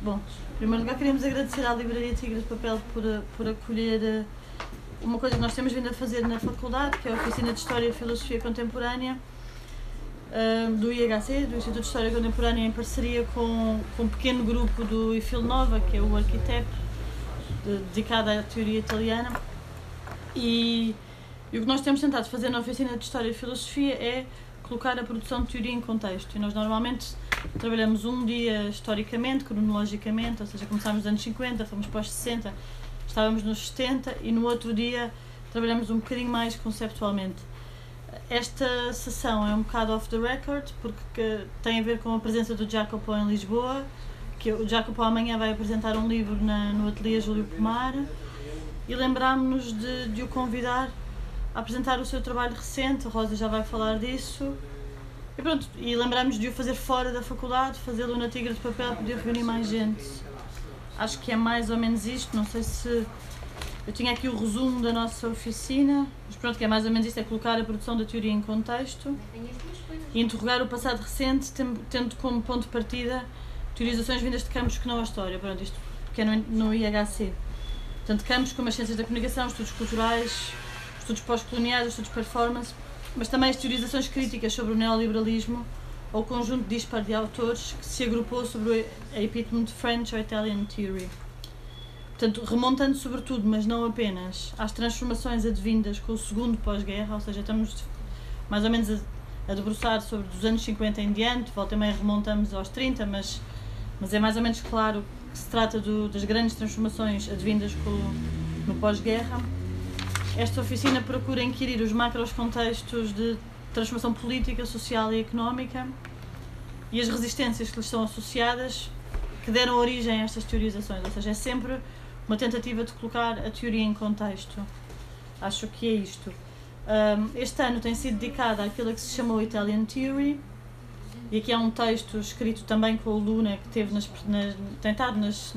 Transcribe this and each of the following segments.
Bom, em primeiro lugar queríamos agradecer à Livraria Tigre de Papel por acolher uma coisa que nós temos vindo a fazer na faculdade, que é a Oficina de História e Filosofia Contemporânea do IHC, do Instituto de História Contemporânea, em parceria com um pequeno grupo do IFIL Nova, que é o Arquiteto, dedicado à teoria italiana. E o que nós temos tentado fazer na Oficina de História e Filosofia é colocar a produção de teoria em contexto. E nós normalmente trabalhamos um dia historicamente, cronologicamente, ou seja, começámos nos anos 50, fomos para os 60, estávamos nos 70, e no outro dia trabalhamos um bocadinho mais conceptualmente. Esta sessão é um bocado off the record, porque tem a ver com a presença do Jacopo em Lisboa, que o Jacopo amanhã vai apresentar um livro no Ateliê Júlio Pomar, e lembrámos-nos de o convidar a apresentar o seu trabalho recente. A Rosa já vai falar disso. E pronto, e lembrámos de o fazer fora da faculdade, fazê-lo na Tigre de Papel, poder reunir mais gente. Acho que é mais ou menos isto, não sei se... Eu tinha aqui o resumo da nossa oficina, mas pronto, que é mais ou menos isto, é colocar a produção da teoria em contexto e interrogar o passado recente, tendo como ponto de partida teorizações vindas de campos que não a história. Pronto, isto que é no IHC. Portanto, campos como as ciências da comunicação, estudos culturais, estudos pós-coloniais, estudos performance, mas também as teorizações críticas sobre o neoliberalismo ou o conjunto dispar de autores que se agrupou sobre a epítome de French ou Italian Theory. Portanto, remontando sobretudo, mas não apenas, às transformações advindas com o segundo pós-guerra, ou seja, estamos mais ou menos a debruçar sobre dos anos 50 em diante, volta e meia remontamos aos 30, mas é mais ou menos claro que se trata das grandes transformações advindas no pós-guerra. Esta oficina procura inquirir os macros contextos de transformação política, social e económica e as resistências que lhes são associadas, que deram origem a estas teorizações, ou seja, é sempre uma tentativa de colocar a teoria em contexto. Acho que é isto. Este ano tem sido dedicado àquilo que se chamou Italian Theory, e aqui há um texto escrito também com o Luna, que teve tentado nas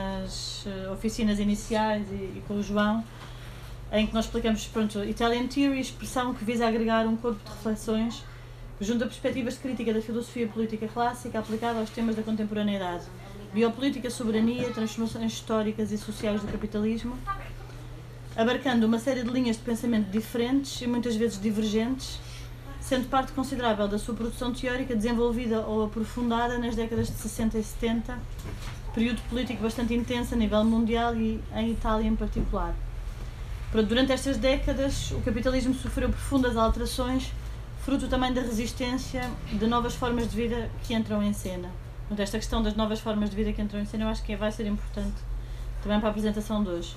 oficinas iniciais e com o João, em que nós explicamos, pronto, Italian Theory, expressão que visa agregar um corpo de reflexões junto a perspectivas de crítica da filosofia política clássica aplicada aos temas da contemporaneidade, biopolítica, soberania, transformações históricas e sociais do capitalismo, abarcando uma série de linhas de pensamento diferentes e muitas vezes divergentes, sendo parte considerável da sua produção teórica desenvolvida ou aprofundada nas décadas de 60 e 70, período político bastante intenso a nível mundial e em Itália em particular. Durante estas décadas, o capitalismo sofreu profundas alterações, fruto também da resistência de novas formas de vida que entram em cena. Esta questão das novas formas de vida que entram em cena eu acho que vai ser importante também para a apresentação de hoje.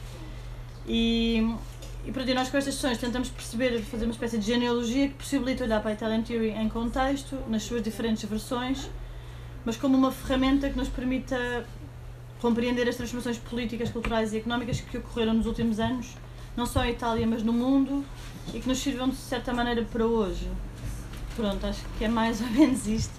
E nós com estas sessões tentamos perceber, fazer uma espécie de genealogia que possibilita olhar para a Italian Theory em contexto, nas suas diferentes versões, mas como uma ferramenta que nos permita compreender as transformações políticas, culturais e económicas que ocorreram nos últimos anos, não só em Itália, mas no mundo, e que nos sirvam de certa maneira para hoje. Pronto, acho que é mais ou menos isto.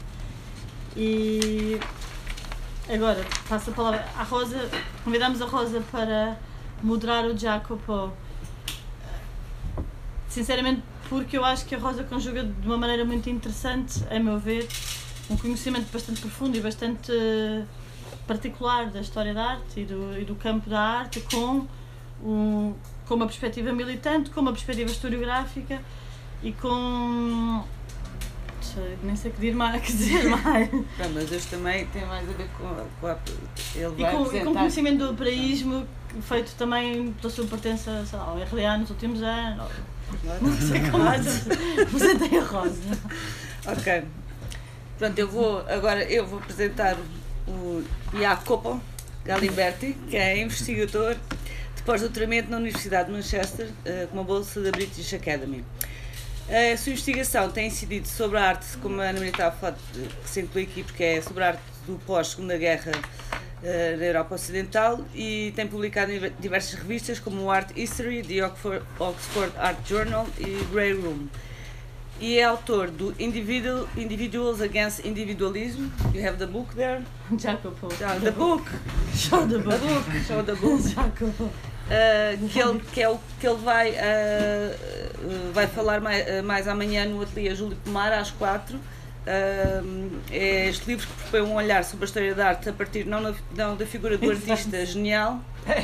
E agora passo a palavra à Rosa. Convidamos a Rosa para moderar o Jacopo. Sinceramente, porque eu acho que a Rosa conjuga de uma maneira muito interessante, a meu ver, um conhecimento bastante profundo e bastante particular da história da arte e do campo da arte, com uma perspectiva militante, com uma perspectiva historiográfica e com... nem sei o que dizer mais. Não, mas este também tem mais a ver com a ele vai e com o conhecimento do operaísmo, feito também pela sua pertença, sei lá, ao RDA nos últimos anos. Não sei como mais apresentei a Rosa. Ok. Pronto, eu vou apresentar o Jacopo Galimberti, que é investigador de pós-doutoramento na Universidade de Manchester, com uma bolsa da British Academy. A sua investigação tem incidido sobre a arte, como a Ana Maria estava a falar, que se inclui aqui, porque é sobre a arte do pós-Segunda Guerra na Europa Ocidental, e tem publicado em diversas revistas, como o Art History, The Oxford Art Journal e Grey Room. E é autor do Individuals Against Individualism. You have the book there? Jacopo. The book. Show the book. Show the book. Jacopo. Que ele vai falar mais amanhã no Ateliê Júlio Pomar às 4, É este livro que propõe um olhar sobre a história da arte a partir não da figura do artista genial,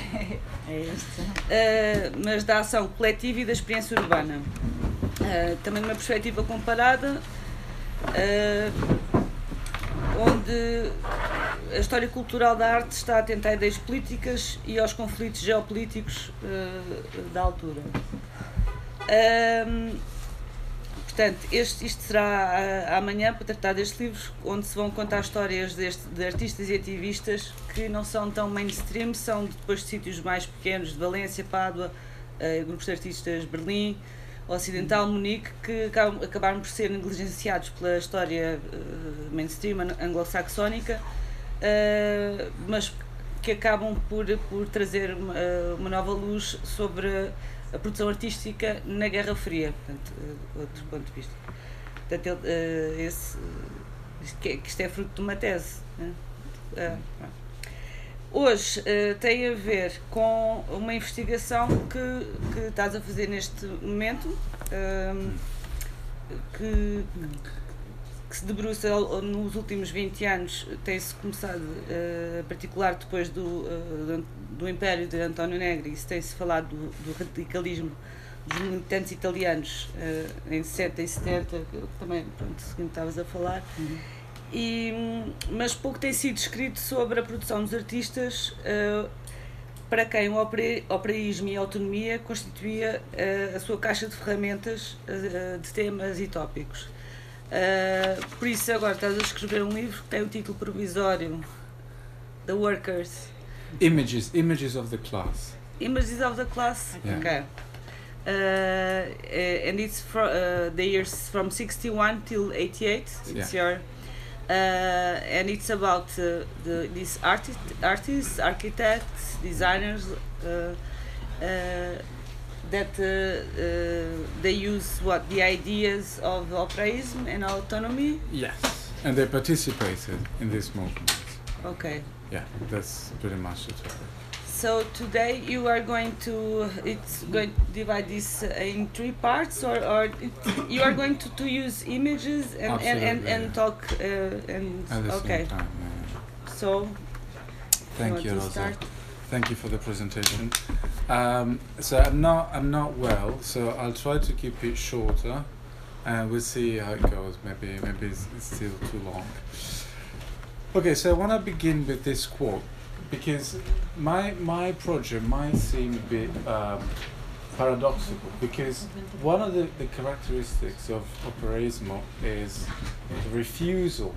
mas da ação coletiva e da experiência urbana. Também numa perspectiva comparada, onde a história cultural da arte está atenta a ideias políticas e aos conflitos geopolíticos da altura. Portanto, isto será amanhã para tratar destes livros, onde se vão contar histórias de artistas e ativistas que não são tão mainstream, são depois de sítios mais pequenos, de Valência, Pádua, grupos de artistas de Berlim, Ocidental, Munique, que acabaram por ser negligenciados pela história mainstream anglo-saxónica, mas que acabam por trazer uma nova luz sobre a produção artística na Guerra Fria, portanto, outro ponto de vista. Portanto, isto é fruto de uma tese. Né? Hoje tem a ver com uma investigação que estás a fazer neste momento, que se debruça nos últimos 20 anos, tem-se começado, em particular depois do Império de António Negri, e tem-se falado do radicalismo dos militantes italianos em 60 e 70, que também, pronto, segundo estavas a falar, mas pouco tem sido escrito sobre a produção dos artistas, para quem o operaísmo e a autonomia constituía a sua caixa de ferramentas de temas e tópicos. Por isso agora estás a escrever um livro que tem o título provisório The Workers Images of the Class. Images of the Class. Yeah. Okay. And it's the years from 61 till 88. It's your and it's about these artists, architects, designers that they use the ideas of operaism and autonomy. Yes, and they participated in this movement. Okay. Yeah, that's pretty much the topic. So today you are going to divide this in 3 parts, or you are going to use images and talk and at the okay. same time, yeah. So Thank you, to Rosa. start? Thank you for the presentation. So I'm not well, so I'll try to keep it shorter, and we'll see how it goes. Maybe it's still too long. Okay, so I want to begin with this quote, because my project might seem a bit paradoxical, because one of the characteristics of operaismo is the refusal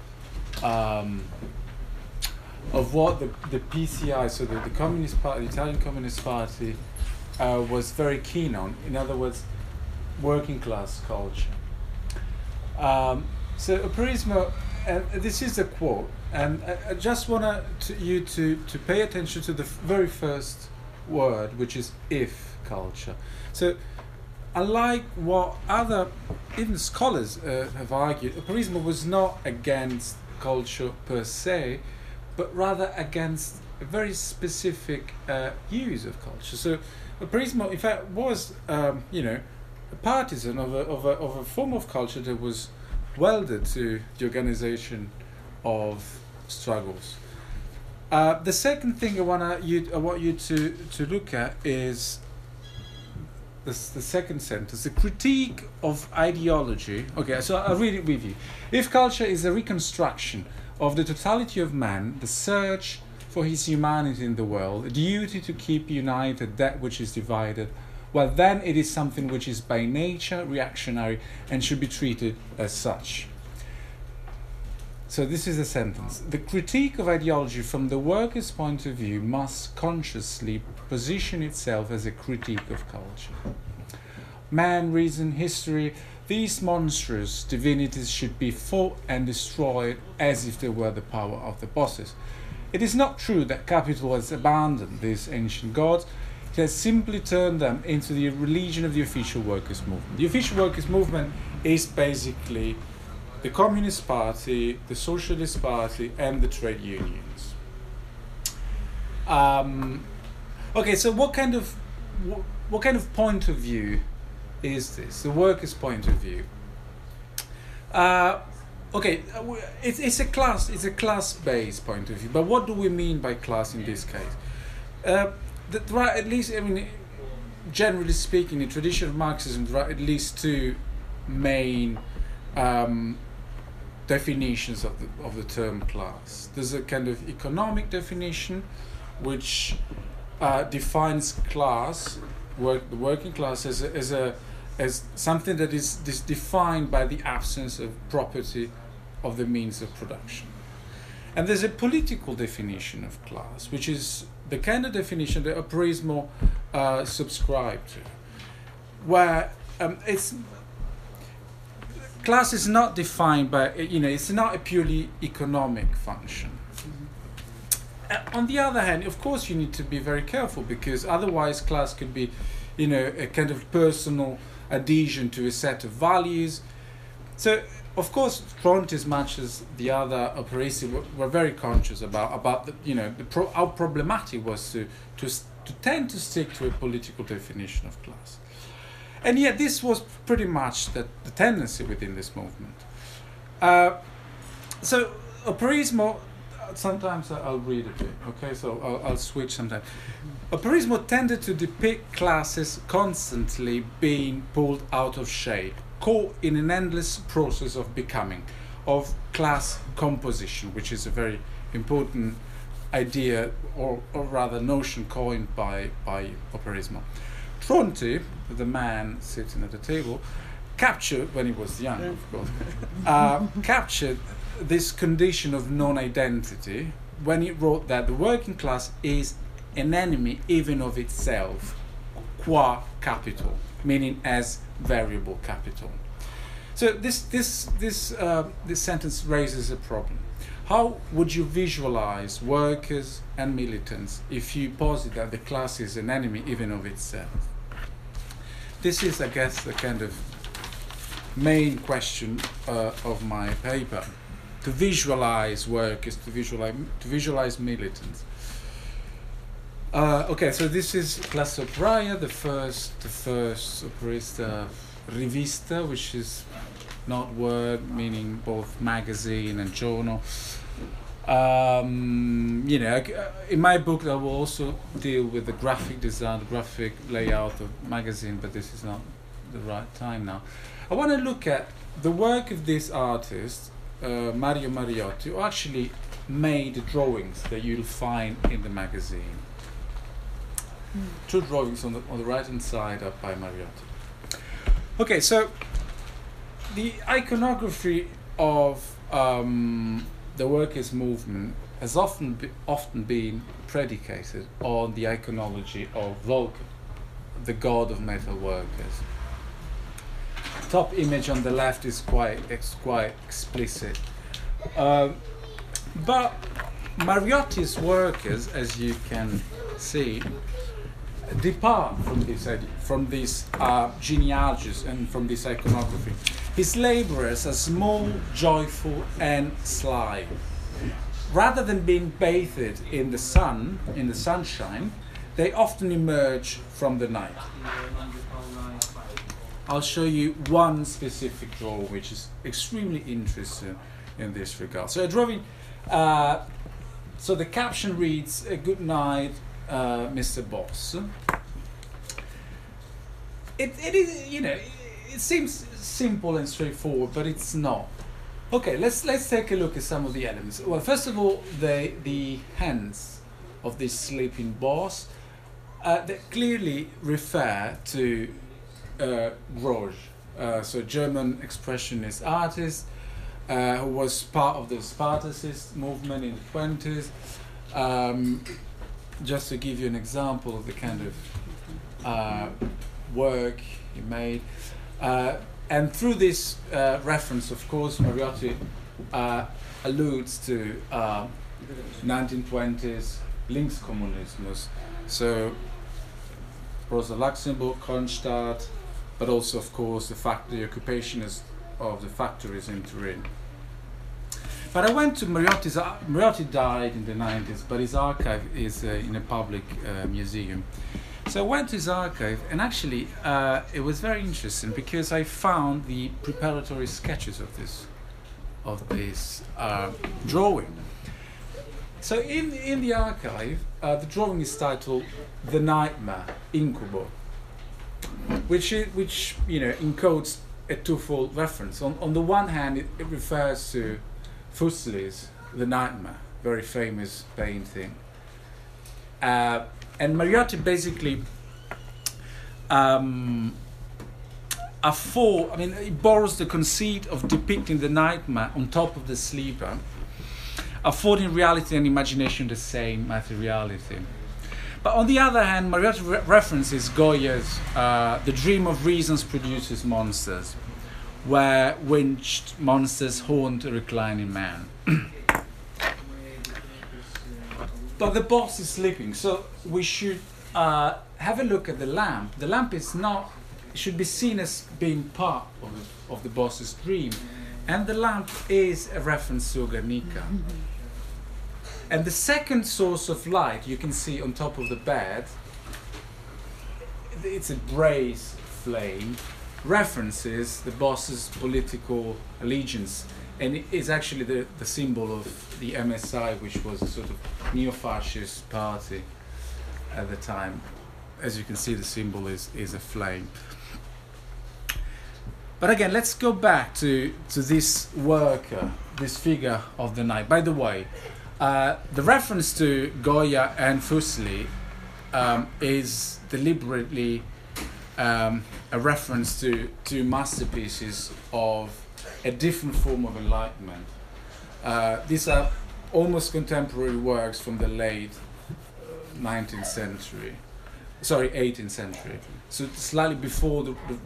of what the PCI, so the Communist Party, the Italian Communist Party, was very keen on. In other words, working class culture. So operaismo, and this is a quote, and I just want you to pay attention to the very first word, which is if culture. So unlike what other, even scholars have argued, operaismo was not against culture per se, but rather against a very specific use of culture. So operaismo, in fact, was a partisan of a form of culture that was welded to the organization of struggles. The second thing I want you to look at is the second sentence, the critique of ideology. Okay, so I'll read it with you. If culture is a reconstruction of the totality of man, the search for his humanity in the world, a duty to keep united that which is divided, well, then it is something which is by nature reactionary and should be treated as such. So this is a sentence. The critique of ideology from the worker's point of view must consciously position itself as a critique of culture. Man, reason, history, these monstrous divinities should be fought and destroyed as if they were the power of the bosses. It is not true that capital has abandoned these ancient gods. It has simply turned them into the religion of the official workers' movement. The official workers' movement is basically the Communist Party, the Socialist Party, and the trade unions. Okay, so what kind of point of view is this? The workers' point of view. okay, it's a class-based point of view. But what do we mean by class in this case? There are at least, I mean, generally speaking, in tradition of Marxism, there are at least two main definitions of the term class. There's a kind of economic definition, which defines class, the working class, as something that is defined by the absence of property of the means of production. And there's a political definition of class, which is the kind of definition that Aprismo subscribed to, where class is not defined by, it's not a purely economic function. On the other hand, of course, you need to be very careful, because otherwise class could be, a kind of personal adhesion to a set of values. So, of course, Tronti, as much as the other operisti, were very conscious about how problematic it was to tend to stick to a political definition of class. And yet this was pretty much the tendency within this movement. So Aprismo, sometimes I'll read a bit, okay, so I'll switch sometimes. Aprismo tended to depict classes constantly being pulled out of shape, caught in an endless process of becoming, of class composition, which is a very important idea, or rather notion coined by Aprismo. Tronti, the man sitting at the table, captured, when he was young, of course, captured this condition of non-identity when he wrote that the working class is an enemy even of itself, qua capital, meaning as variable capital. So this sentence raises a problem. How would you visualize workers and militants if you posit that the class is an enemy even of itself? This is, I guess, the kind of main question of my paper. To visualize workers, to visualize militants. Okay, so this is Classe Operaia, the first operista rivista, which is not word, meaning both magazine and journal. In my book I will also deal with the graphic design, the graphic layout of magazine, but this is not the right time now. I want to look at the work of this artist, Mario Mariotti, who actually made the drawings that you'll find in the magazine. Two drawings on the right hand side are by Mariotti. Okay, so the iconography of the workers' movement has often been predicated on the iconology of Vulcan, the god of metal workers. Top image on the left is quite explicit, but Mariotti's workers, as you can see, depart from these genealogies and from this iconography. His labourers are small, joyful, and sly. Rather than being bathed in the sun, in the sunshine, they often emerge from the night. I'll show you one specific drawing which is extremely interesting in this regard. So a drawing, so the caption reads, "Good night, Mr. Boss." It is, it seems simple and straightforward, but it's not. Okay, let's take a look at some of the elements. Well, first of all, the hands of this sleeping boss that clearly refer to Grosz, so German expressionist artist who was part of the Spartacist movement in the 20s. Just to give you an example of the kind of work he made. And through this reference, of course, Mariotti alludes to 1920s Linkskommunismus. So Rosa Luxemburg, Kronstadt, but also, of course, the occupation of the factories in Turin. But I went to Mariotti died in the 90s, but his archive is in a public museum. So I went to his archive, and actually it was very interesting because I found the preparatory sketches of this this drawing. So in the archive, the drawing is titled "The Nightmare Incubo," which encodes a twofold reference. On the one hand, it refers to Fuseli's *The Nightmare*, very famous painting, and Mariotti basically he borrows the conceit of depicting the nightmare on top of the sleeper, affording reality and imagination the same materiality. But on the other hand, Mariotti references Goya's "The Dream of Reasons Produces Monsters," where winged monsters haunt a reclining man. But the boss is sleeping, so we should have a look at the lamp. The lamp should be seen as being part of the boss's dream, and the lamp is a reference to Guernica. And the second source of light you can see on top of the bed, it's a brace flame, references the boss's political allegiance, and it is actually the symbol of the MSI, which was a sort of neo-fascist party at the time. As you can see, the symbol is a flame. But again, let's go back to this worker, this figure of the night. By the way, the reference to Goya and Fuseli is deliberately a reference to two masterpieces of a different form of enlightenment. These are almost contemporary works from the late 18th century, so slightly before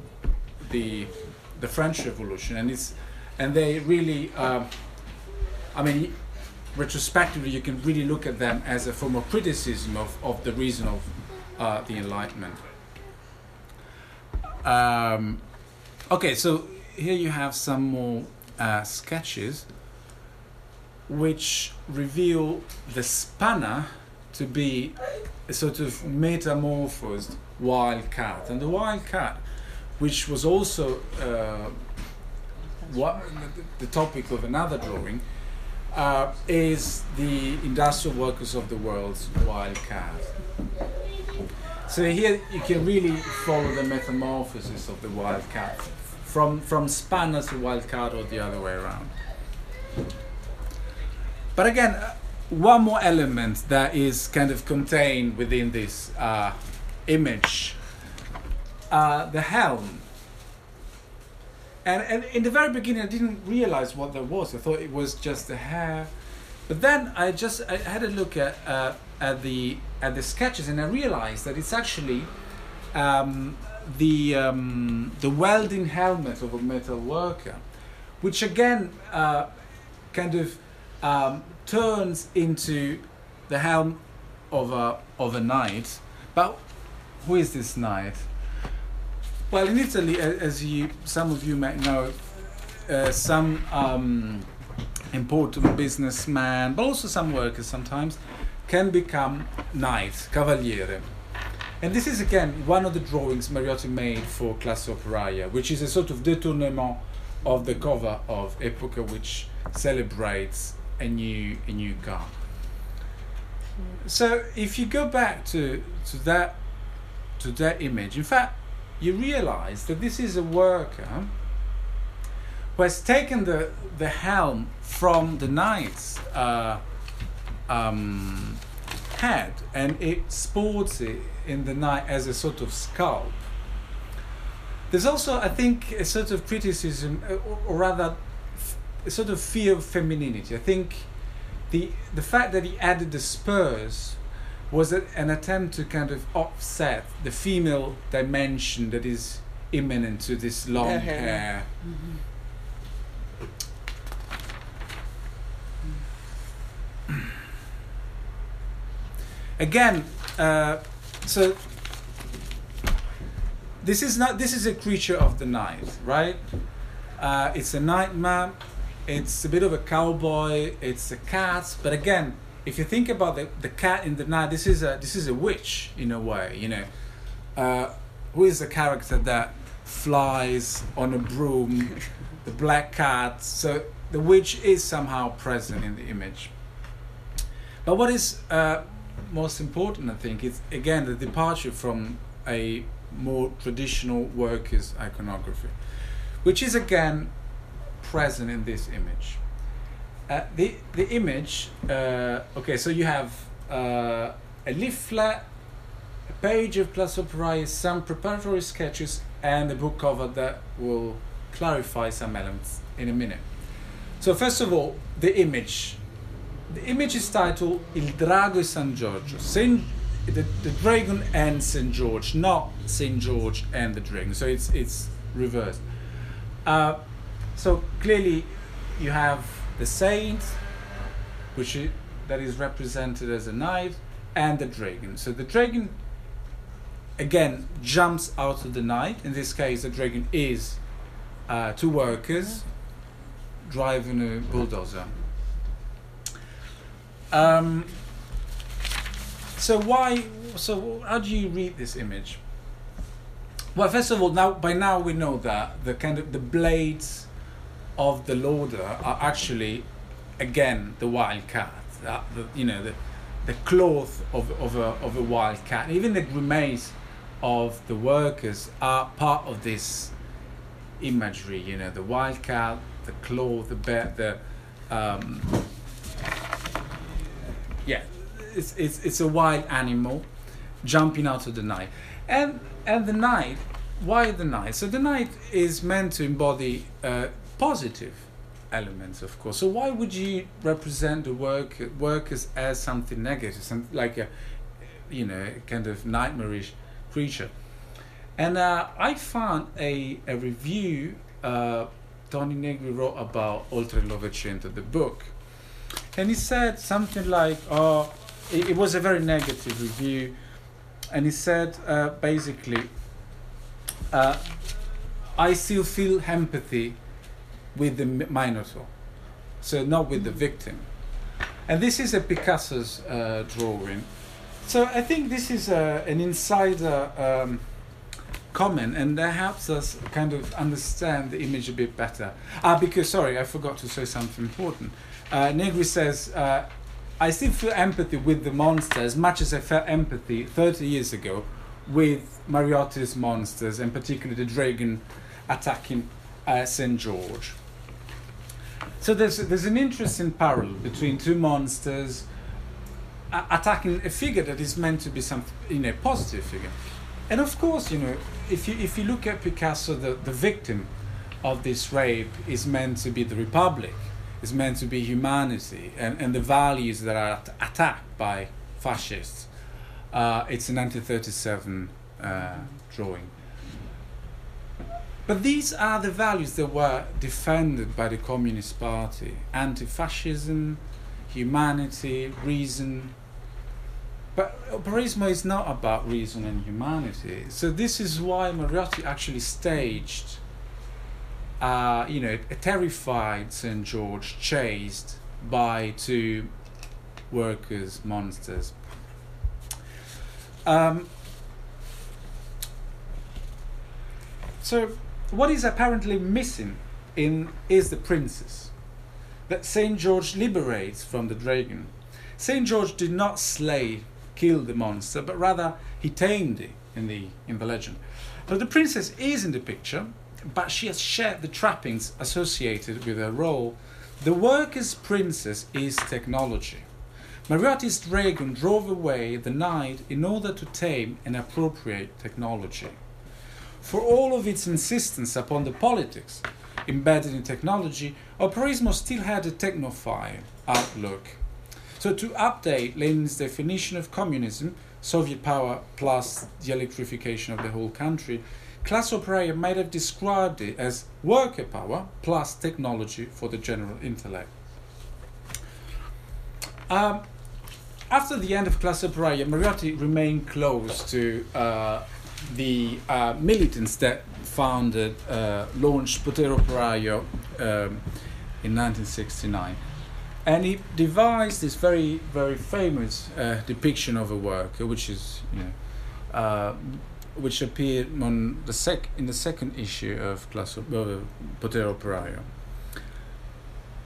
the French Revolution, and they really, retrospectively, you can really look at them as a form of criticism of the reason of the Enlightenment. Okay, so here you have some more sketches which reveal the spanner to be a sort of metamorphosed wild cat. And the wild cat, which was also the topic of another drawing, is the Industrial Workers of the World's wild cat. So here you can really follow the metamorphosis of the wild cat from spanner to wild cat, or the other way around. But again, one more element that is kind of contained within this image, the helm. And in the very beginning, I didn't realize what that was. I thought it was just the hair. But then I had a look at the sketches, and I realized that it's actually the welding helmet of a metal worker, which again kind of turns into the helm of a knight. But who is this knight? Well, in Italy, as some of you might know, some important businessmen, but also some workers sometimes, can become knights, cavaliere. And this is again one of the drawings Mariotti made for Classe Operaia, which is a sort of détournement of the cover of Epoca, which celebrates a new car. So if you go back to that image, in fact, you realize that this is a worker who has taken the helm from the knight's head, and it sports it in the knight as a sort of scalp. There's also, I think, a sort of criticism, or rather a sort of fear of femininity. I think the fact that he added the spurs was an attempt to kind of offset the female dimension that is imminent to this long hair. Mm-hmm. Again, so this is a creature of the night, right? It's a nightmare. It's a bit of a cowboy. It's a cat. But again, if you think about the cat in the night, this is a witch in a way. You know, who is the character that flies on a broom? The black cat. So the witch is somehow present in the image. But what is most important, I think, is again the departure from a more traditional workers' iconography, which is again present in this image. The image, okay, so you have a leaflet, a page of Classe Operaia, some preparatory sketches, and a book cover that will clarify some elements in a minute. So first of all, the image. The image is titled Il Drago e San Giorgio, the dragon and St. George, not St. George and the dragon. So it's reversed. So clearly you have the saint, that is represented as a knight, and the dragon. So the dragon again jumps out of the night. In this case, the dragon is two workers driving a bulldozer. So how do you read this image? Well, first of all, by now we know that the blades of the loader are actually again the wild cat. The cloth of a wild cat. Even the grimace of the workers are part of this imagery. The wild cat, the cloth, the bear, it's a wild animal jumping out of the night, and the night. Why the night? So the night is meant to embody positive elements, of course. So why would you represent the workers as something negative, like a kind of nightmarish creature? And I found a review Tony Negri wrote about Oltre il Novecento, the book, and he said something like, it was a very negative review, and he said basically, I still feel empathy with the Minotaur, so not with the victim. And this is a Picasso's drawing. So I think this is an insider comment, and that helps us kind of understand the image a bit better. Because, sorry, I forgot to say something important. Negri says, I still feel empathy with the monster as much as I felt empathy 30 years ago with Mariotti's monsters, and particularly the dragon attacking St. George. So there's an interesting parallel between two monsters attacking a figure that is meant to be a positive figure. And of course, if you look at Picasso, the victim of this rape is meant to be the Republic, is meant to be humanity, and the values that are attacked by fascists. It's a 1937 drawing. But these are the values that were defended by the Communist Party: anti-fascism, humanity, reason. But operaismo is not about reason and humanity. So this is why Mariotti actually staged, a terrified St. George chased by two workers' monsters. So what is apparently missing is the princess that St. George liberates from the dragon. St. George did not kill the monster, but rather he tamed it in the legend. So the princess is in the picture, but she has shared the trappings associated with her role. The worker's princess is technology. Mariotti's dragon drove away the night in order to tame and appropriate technology. For all of its insistence upon the politics embedded in technology, operaismo still had a technophile outlook. So to update Lenin's definition of communism, Soviet power plus the electrification of the whole country, Classe Operaia might have described it as worker power plus technology for the general intellect. After the end of Classe Operaia, Mariotti remained close to the militants that launched Potere Operaio in 1969. And he devised this very, very famous depiction of a worker, which is, which appeared in the second issue of Potere Operaio.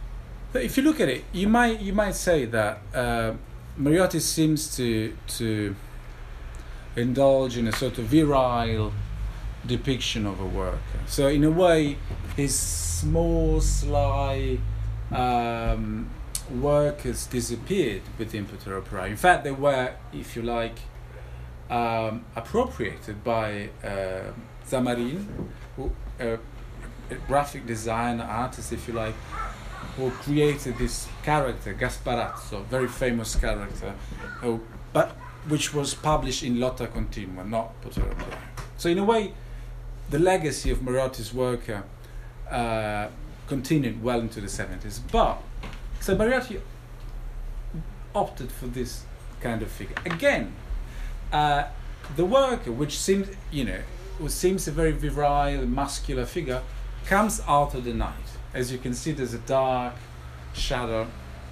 But if you look at it, you might say that Mariotti seems to indulge in a sort of virile depiction of a worker. So in a way, his small, sly workers disappeared with the Imperatore Operaio. In fact, they were, if you like, appropriated by Zamarin, who, a graphic designer, artist, if you like, who created this character, Gasparazzo, very famous character, but which was published in Lotta Continua, not Potere Operaio. So in a way, the legacy of Mariotti's work continued well into the 70s. But, so Mariotti opted for this kind of figure. Again, the worker, which seems a very virile, muscular figure, comes out of the night. As you can see, there's a dark shadow.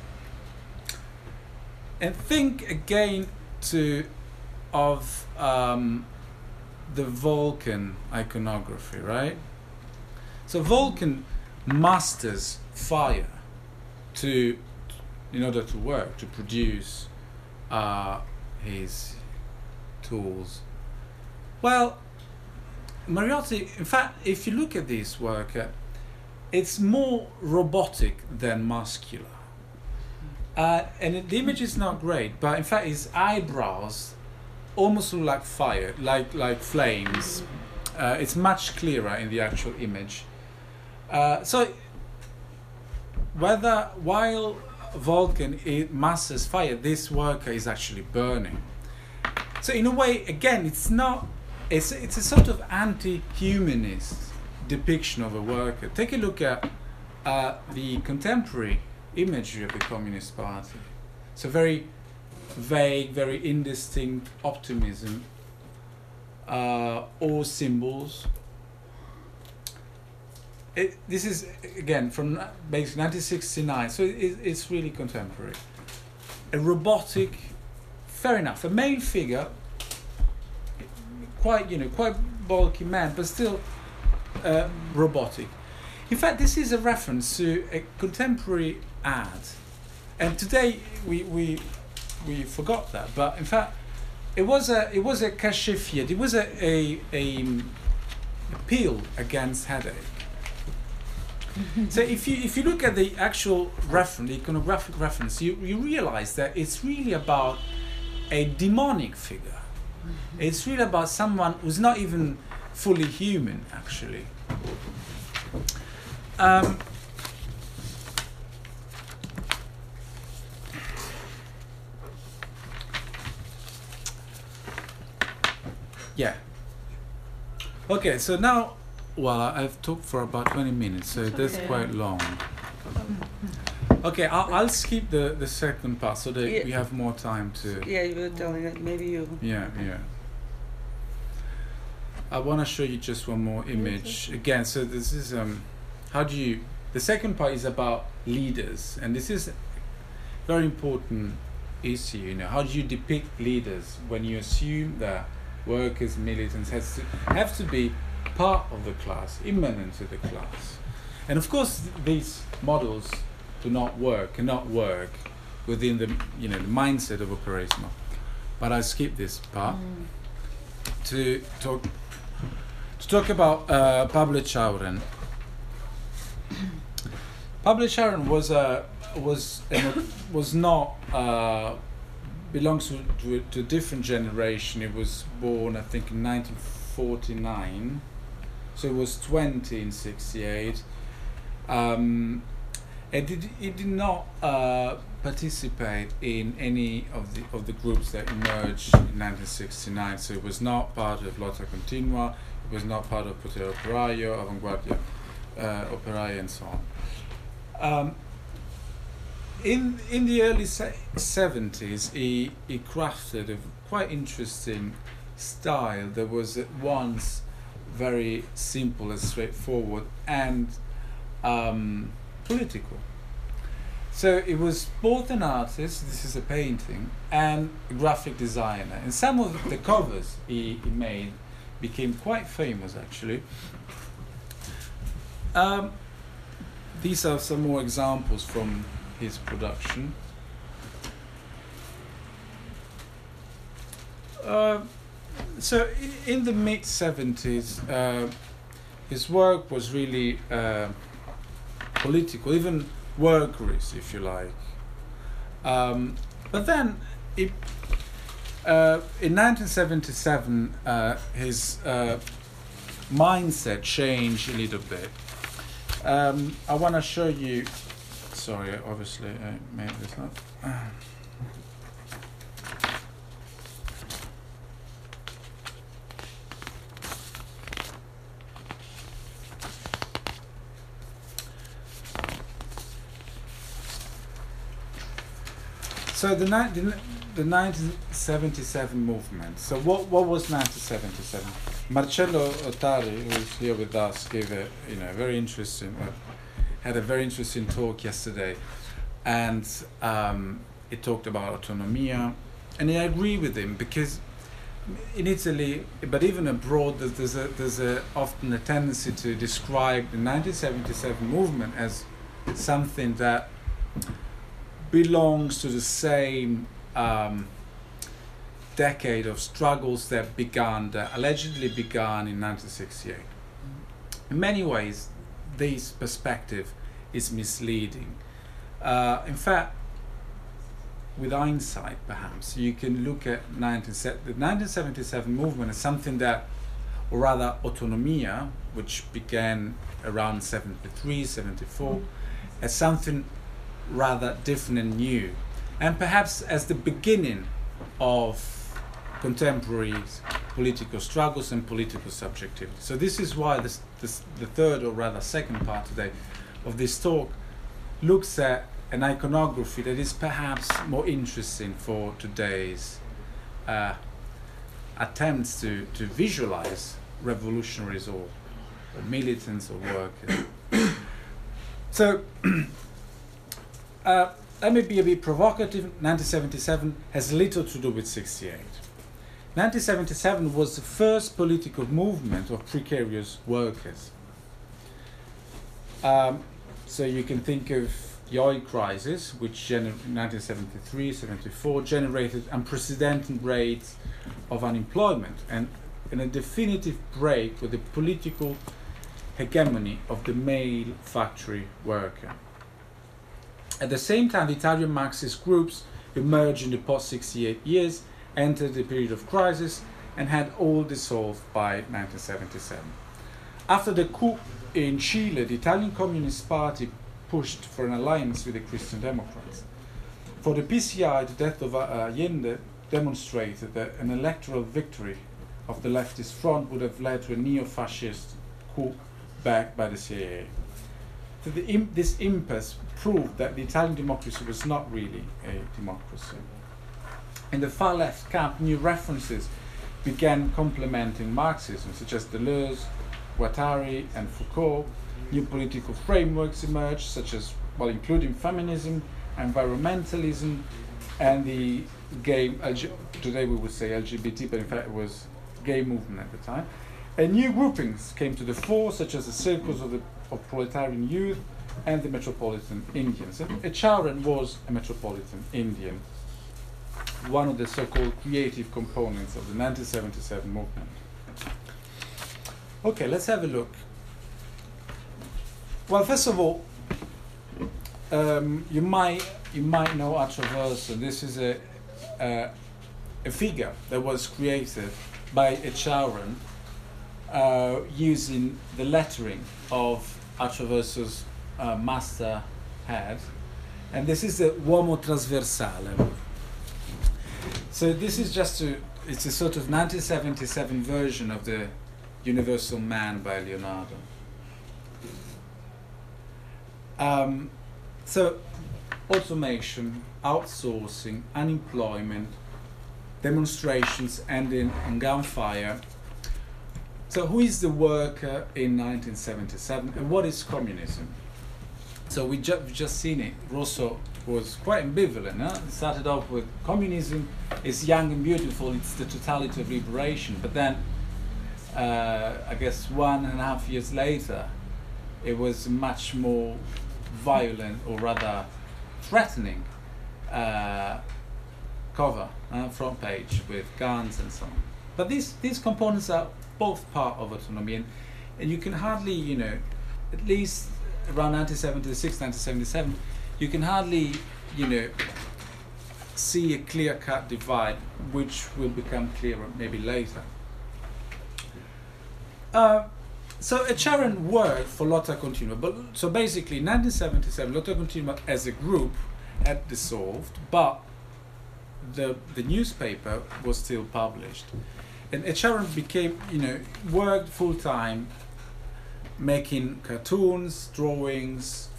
And think again of the Vulcan iconography, right? So Vulcan masters fire in order to work, to produce his tools. Well, Mariotti, in fact, if you look at this work, it's more robotic than muscular. And the image is not great, but in fact his eyebrows almost look like fire, like flames. It's much clearer in the actual image. So while Vulcan masters fire, this worker is actually burning. So in a way, again, it's a sort of anti-humanist depiction of a worker. Take a look at the contemporary imagery of the Communist Party. So very vague, very indistinct optimism, or symbols. This is, again, from basically 1969, so it's really contemporary. A robotic, fair enough, a male figure, quite bulky man, but still robotic. In fact, this is a reference to a contemporary ad, and today we forgot that. But in fact, it was a cachet fiat. It was a pill against headache. So if you look at the actual reference, the iconographic reference, you realize that it's really about a demonic figure. It's really about someone who's not even fully human, actually. Yeah. Okay, so now, well, I've talked for about 20 minutes, so that's quite long. Okay, I'll skip the second part so that we have more time to... Yeah, you were telling it, maybe you... Yeah. I want to show you just one more image. Again, so this is... The second part is about leaders, and this is a very important issue, How do you depict leaders when you assume that workers, militants have to be part of the class, immanent to the class? And of course, these models cannot work within the the mindset of Operaismo. But I skip this part to talk about Pablo Echaurren. Pablo Echaurren belongs to a different generation. He was born, I think, in 1949, so he was 20 in 1968. And he did not participate in any of the groups that emerged in 1969. So he was not part of Lotta Continua. He was not part of Potere Operaio, Avanguardia Operaia, and so on. In the early 70s, he crafted a quite interesting style that was at once very simple and straightforward and political. So it was both an artist, this is a painting, and a graphic designer. And some of the covers he made became quite famous, actually. these are some more examples from his production. So in the mid-70s, his work was really political, even workerist, if you like. But then, in 1977, his mindset changed a little bit. I want to show you. Sorry, obviously I made this up. So the 1977 movement. So what was 1977? Marcello Ottari, who is here with us, gave a very interesting, had a very interesting talk yesterday, and he talked about autonomia, and I agree with him, because in Italy, but even abroad, there's often a tendency to describe the 1977 movement as something that belongs to the same decade of struggles that allegedly began in 1968. In many ways, this perspective is misleading. In fact, with hindsight, perhaps, you can look at the 1977 movement as something that, or rather autonomia, which began around 73, 74, as something rather different and new, and perhaps as the beginning of contemporary political struggles and political subjectivity. So this is why the third, or rather second part today of this talk looks at an iconography that is perhaps more interesting for today's attempts to visualize revolutionaries or militants or workers. So let me be a bit provocative. 1977 has little to do with 68. 1977 was the first political movement of precarious workers. So you can think of the oil crisis, which in 1973-74 generated unprecedented rates of unemployment and a definitive break with the political hegemony of the male factory worker. At the same time, the Italian Marxist groups emerged in the post-68 years, entered the period of crisis, and had all dissolved by 1977. After the coup in Chile, the Italian Communist Party pushed for an alliance with the Christian Democrats. For the PCI, the death of Allende demonstrated that an electoral victory of the leftist front would have led to a neo-fascist coup backed by the CIA. So this impasse proved that the Italian democracy was not really a democracy. In the far left camp, new references began complementing Marxism, such as Deleuze, Guattari, and Foucault. New political frameworks emerged, such as, including feminism, environmentalism, and the gay, today we would say LGBT, but in fact it was gay movement at the time. And new groupings came to the fore, such as the circles of proletarian youth and the Metropolitan Indians. And Echarren was a Metropolitan Indian, one of the so-called creative components of the 1977 movement. Okay, let's have a look. Well, first of all, you might know Atraverso. This is a figure that was created by Echarren using the lettering of Atraverso's master head, and this is the Uomo Trasversale. So this is it's a sort of 1977 version of the Universal Man by Leonardo. So automation, outsourcing, unemployment, demonstrations ending in gunfire. So who is the worker in 1977 and what is communism? So we've just seen it. Rosso was quite ambivalent. It started off with communism is young and beautiful, it's the totality of liberation. But then, I guess 1.5 years later, it was much more violent or rather threatening cover, front page with guns and so on. But these components are both part of autonomy, and you can hardly, you know, at least around 1976, 1977, you can hardly, you know, see a clear-cut divide, which will become clearer maybe later. So Etcharen worked for Lotta Continua, but so basically in 1977 Lotta Continua as a group had dissolved, but the newspaper was still published, and Etcharen became, you know, worked full time, making cartoons, drawings,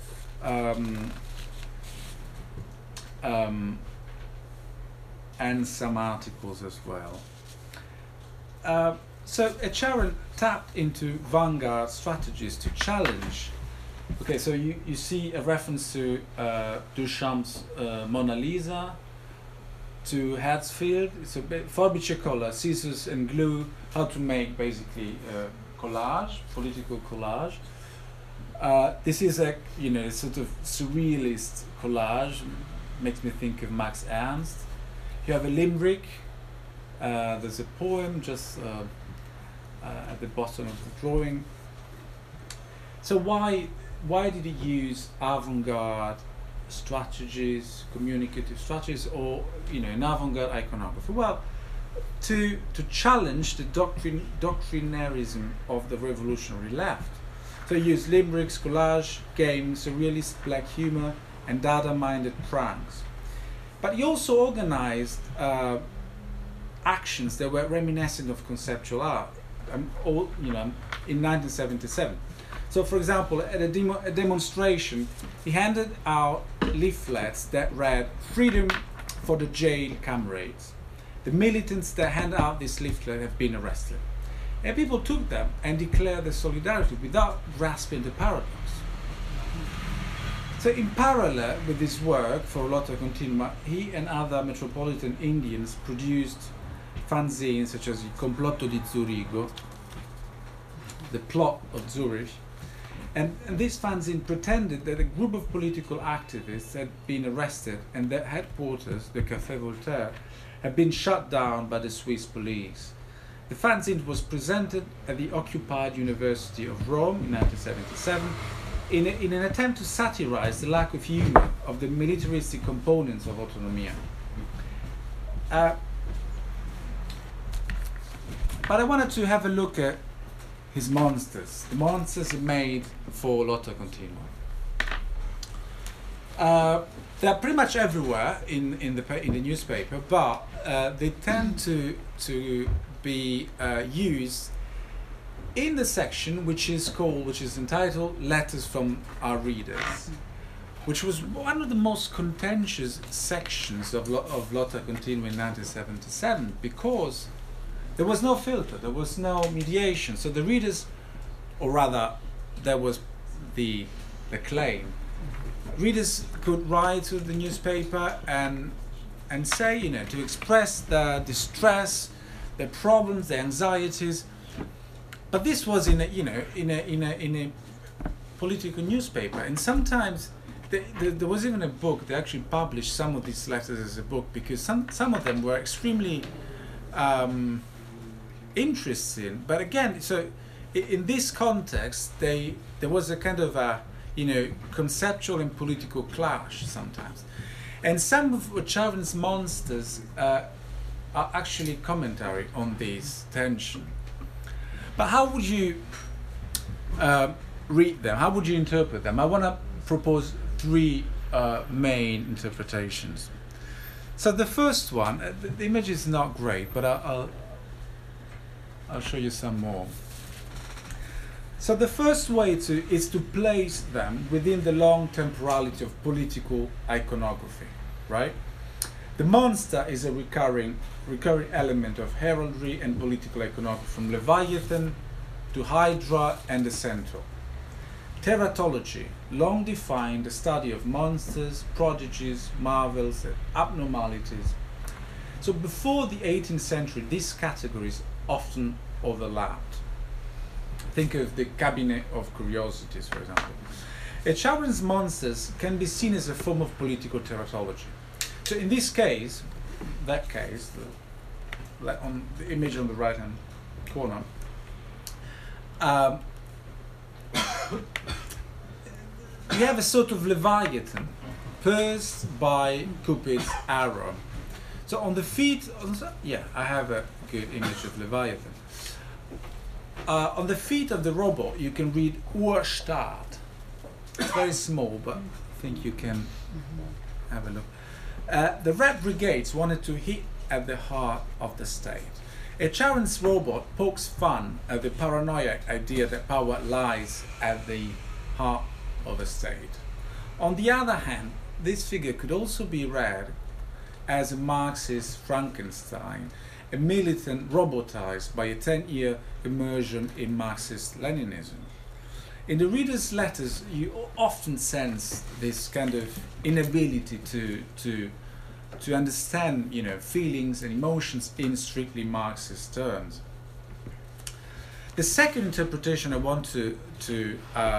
and some articles as well. So Etcharen tapped into vanguard strategies to challenge. Okay, so you see a reference to Duchamp's Mona Lisa, to Hertzfeld, so Forbice-Color, scissors and glue, how to make basically collage, political collage. This is a, you know, sort of surrealist collage, makes me think of Max Ernst. You have a limerick, there's a poem just at the bottom of the drawing. So why did he use avant-garde strategies, communicative strategies, or, you know, an avant-garde iconography? Well, to challenge the doctrinarism of the revolutionary left. So he used limericks, collage, games, surrealist black humor, and Dada-minded pranks. But he also organized actions that were reminiscent of conceptual art, all, you know, in 1977. So, for example, at a demonstration, he handed out leaflets that read "Freedom for the jail comrades." The militants that hand out this leaflet have been arrested. And people took them and declared their solidarity without grasping the paradox. So in parallel with this work for Lotta Continua, he and other metropolitan Indians produced fanzines such as Il Complotto di Zurigo, The Plot of Zurich, and this fanzine pretended that a group of political activists had been arrested and their headquarters, the Café Voltaire, had been shut down by the Swiss police. The fanzine was presented at the occupied University of Rome in 1977 in an attempt to satirize the lack of humor of the militaristic components of Autonomia. But I wanted to have a look at his monsters. The monsters are made for Lotta Continua. They're pretty much everywhere in the newspaper, but they tend to be used in the section which is entitled "Letters from Our Readers," which was one of the most contentious sections of Lotta Continua in 1977, because there was no filter, there was no mediation. So the readers, or rather, there was the claim. Readers could write to the newspaper and say, you know, to express their distress, their problems, their anxieties. But this was in a political newspaper, and sometimes there was even a book. They actually published some of these letters as a book, because some of them were extremely interesting. But again, so in this context, there was a kind of a, you know, conceptual and political clash sometimes. And some of Etcharen's monsters are actually commentary on this tension. But how would you read them? How would you interpret them? I want to propose three main interpretations. So the first one, the image is not great, but I'll show you some more. So the first way is to place them within the long temporality of political iconography, right? The monster is a recurring element of heraldry and political iconography, from Leviathan to Hydra and the Centaur. Teratology long defined the study of monsters, prodigies, marvels, and abnormalities. So before the 18th century, these categories often overlapped. Think of the Cabinet of Curiosities, for example. Echavarrin's monsters can be seen as a form of political teratology. So in this case, on the image on the right-hand corner, you have a sort of Leviathan pierced by Cupid's arrow. So on the feet, I have a good image of Leviathan. On the feet of the robot, you can read Urstaat. It's very small, but I think you can have a look. The Red Brigades wanted to hit at the heart of the state. Echavarrin's robot pokes fun at the paranoid idea that power lies at the heart of a state. On the other hand, this figure could also be read as a Marxist Frankenstein, a militant robotized by a 10-year immersion in Marxist-Leninism. In the reader's letters, you often sense this kind of inability to understand, feelings and emotions in strictly Marxist terms. The second interpretation I want to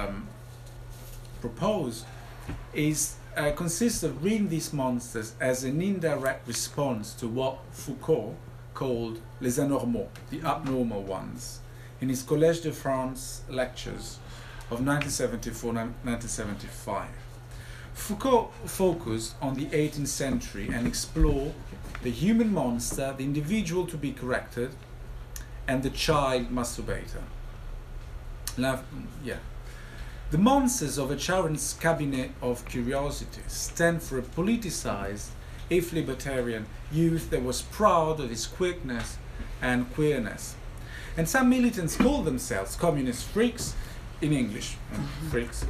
propose consists of reading these monsters as an indirect response to what Foucault called les anormaux, the abnormal ones, in his Collège de France lectures of 1974-1975. Foucault focused on the 18th century and explored the human monster, the individual to be corrected, and the child masturbator. The monsters of Echavarrin's cabinet of curiosities stand for a politicized, if libertarian, youth that was proud of his quickness and queerness. And some militants call themselves communist freaks, in English, freaks.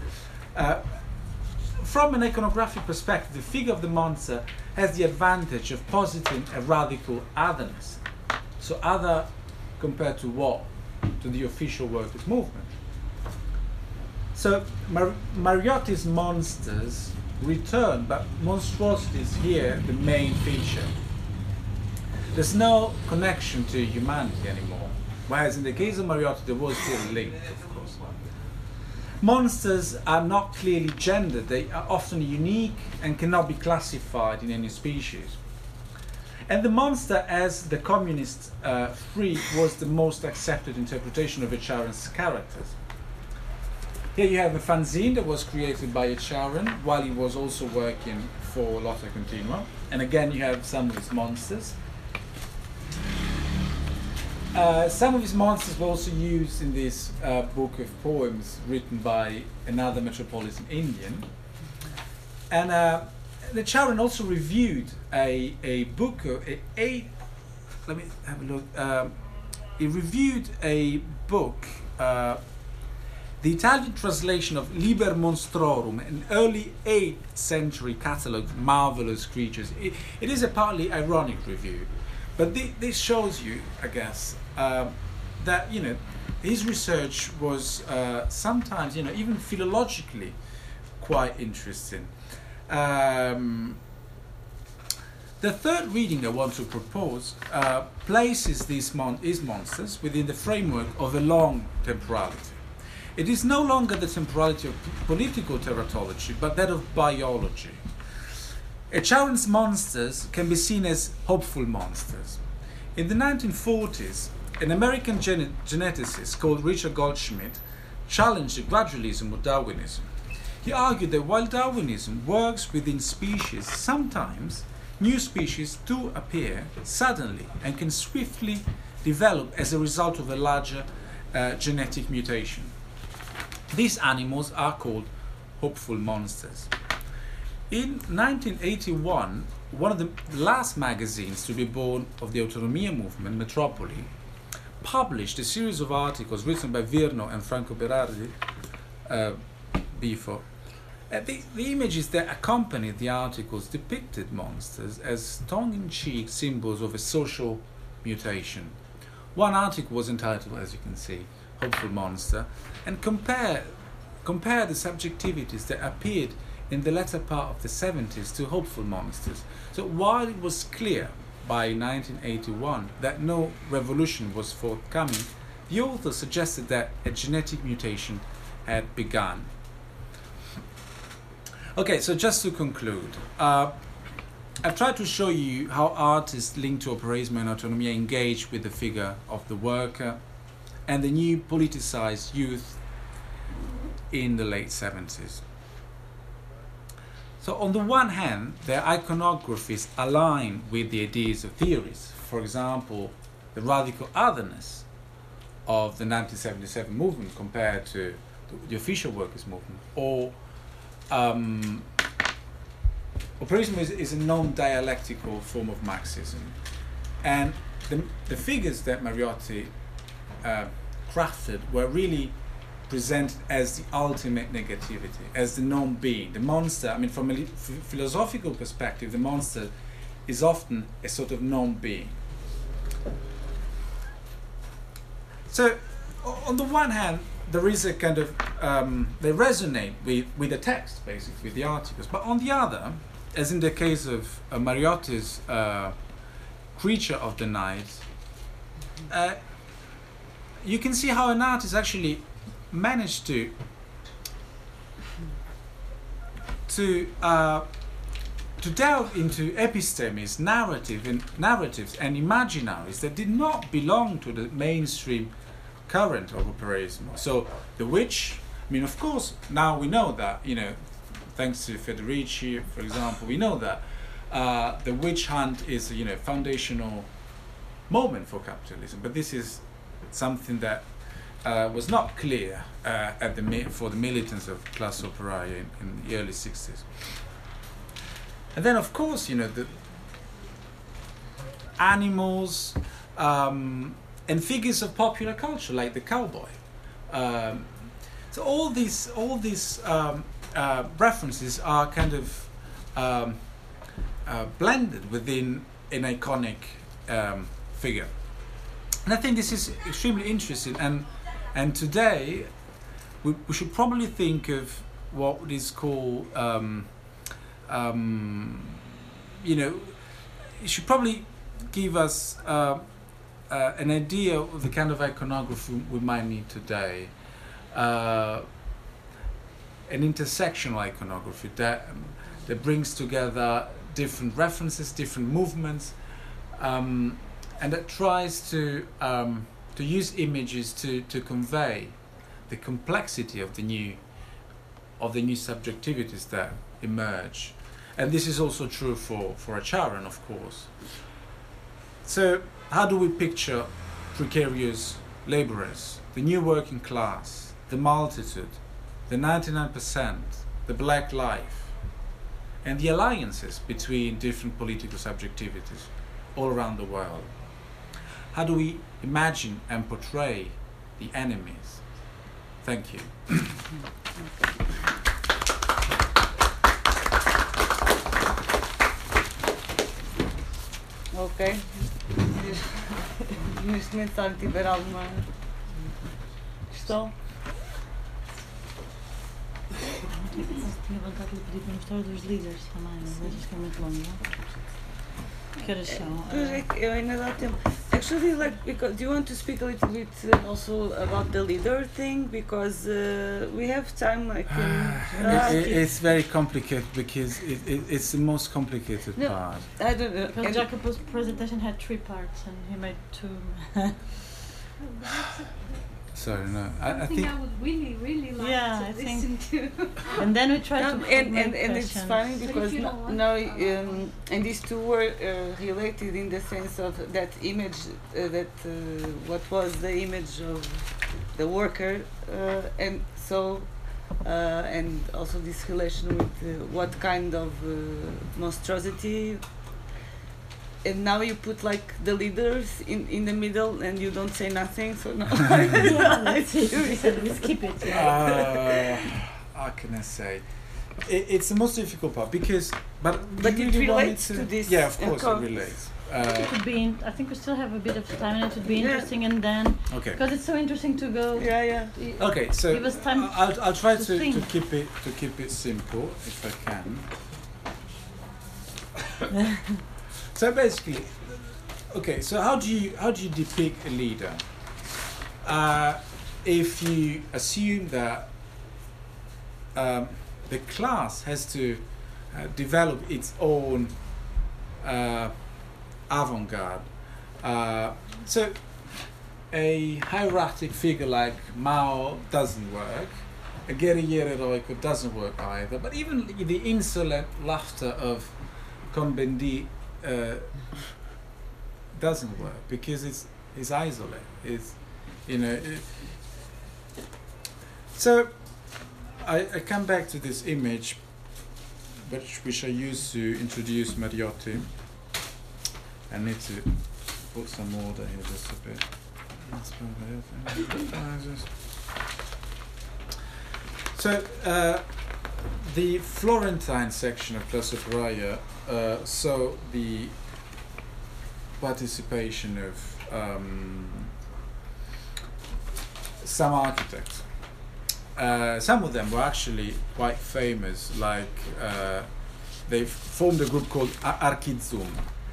From an iconographic perspective, the figure of the monster has the advantage of positing a radical otherness. So other compared to what? To the official workers' movement. So Mariotti's monsters return, but monstrosity is here the main feature. There's no connection to humanity anymore, whereas in the case of Mariotti there was still a link, of course. Monsters are not clearly gendered, they are often unique and cannot be classified in any species. And the monster as the communist freak was the most accepted interpretation of Echavarrin's characters. Here you have a fanzine that was created by Echavarrin while he was also working for Lotta Continua. And again you have some of his monsters. Some of his monsters were also used in this book of poems written by another metropolitan Indian. And Echavarrin also reviewed a book, let me have a look. He reviewed a book, the Italian translation of Liber Monstrorum, an early 8th century catalogue of marvelous creatures. It is a partly ironic review, but this shows you, I guess, that his research was sometimes even philologically quite interesting. The third reading I want to propose places his monsters within the framework of a long temporality. It is no longer the temporality of political teratology, but that of biology. Echavarrin's monsters can be seen as hopeful monsters. In the 1940s, an American geneticist called Richard Goldschmidt challenged the gradualism of Darwinism. He argued that while Darwinism works within species, sometimes new species do appear suddenly and can swiftly develop as a result of a larger genetic mutation. These animals are called hopeful monsters. In 1981, one of the last magazines to be born of the Autonomia movement, Metropoli, published a series of articles written by Virno and Franco Berardi before. The images that accompanied the articles depicted monsters as tongue-in-cheek symbols of a social mutation. One article was entitled, as you can see, Hopeful Monster, and compare the subjectivities that appeared in the latter part of the 70s to hopeful monsters. So while it was clear by 1981 that no revolution was forthcoming, the author suggested that a genetic mutation had begun. Okay, so just to conclude, I've tried to show you how artists linked to operaismo and autonomia engage with the figure of the worker and the new politicized youth in the late 70s. So on the one hand, their iconographies align with the ideas of theories. For example, the radical otherness of the 1977 movement compared to the official workers' movement, or operaismo is a non-dialectical form of Marxism. And the figures that Mariotti crafted were really presented as the ultimate negativity, as the non-being, the monster. I mean, from a philosophical perspective, the monster is often a sort of non-being. So, on the one hand, there is a kind of, they resonate with the text, basically, with the articles. But on the other, as in the case of Mariotti's Creature of the Night, you can see how an artist actually managed to delve into epistemes, narratives and imaginaries that did not belong to the mainstream current of operaismo. So the witch, I mean, of course, now we know that, you know, thanks to Federici, for example, we know that the witch hunt is, you know, a foundational moment for capitalism. But this is something that was not clear for the militants of class operaia in the early 60s. And then, of course, you know, the animals and figures of popular culture, like the cowboy. So all these references are kind of blended within an iconic figure. And I think this is extremely interesting. And today, we should probably think of what is called, you know, it should probably give us an idea of the kind of iconography we might need today. An intersectional iconography that brings together different references, different movements, and that tries to use images to convey the complexity of the new subjectivities that emerge. And this is also true for Acharan, of course. So how do we picture precarious laborers, the new working class, the multitude, the 99%, the black life, and the alliances between different political subjectivities all around the world? How do we imagine and portray the enemies? Thank you. Ok. Neste momento, se alguém tiver alguma questão. Tinha vontade de lhe pedir para mostrar dos líderes também, mas acho que é muito longo, não? Que horas são? Eu ainda dá tempo. Actually, like, because do you want to speak a little bit also about the leader thing, because we have time, like. It's very complicated because it's the most complicated part. I don't know. Because Jacob's presentation had 3 parts and he made 2. Sorry, no. I think I would really like Yeah, to I listen to. And then we tried to and make it's questions. funny But because if you don't want now to, and these two were related in the sense of that image what was the image of the worker and so and also this relation with what kind of monstrosity. And now you put like the leaders in the middle and you don't say nothing, so no. Yeah, that's it. We skip it. Yeah. How can I say? It's the most difficult part because, but But you it really want relates to this. Yeah, of course it relates. It would be. I think we still have a bit of time, and it would be interesting. And then, Okay. because it's so interesting to go. Yeah. Okay, so Give us time I'll try to to think. keep it simple if I can. So basically, okay. So how do you depict a leader? If you assume that the class has to develop its own avant-garde. So a hieratic figure like Mao doesn't work. A guerrillero heroico doesn't work either. But even the insolent laughter of Cohn-Bendit doesn't work because it's isolated. It's, you know. So I come back to this image, which I used to introduce Mariotti. I need to put some order here just a bit. So the Florentine section of Classe Operaia saw the participation of some architects. Some of them were actually quite famous, like they formed a group called Archizum.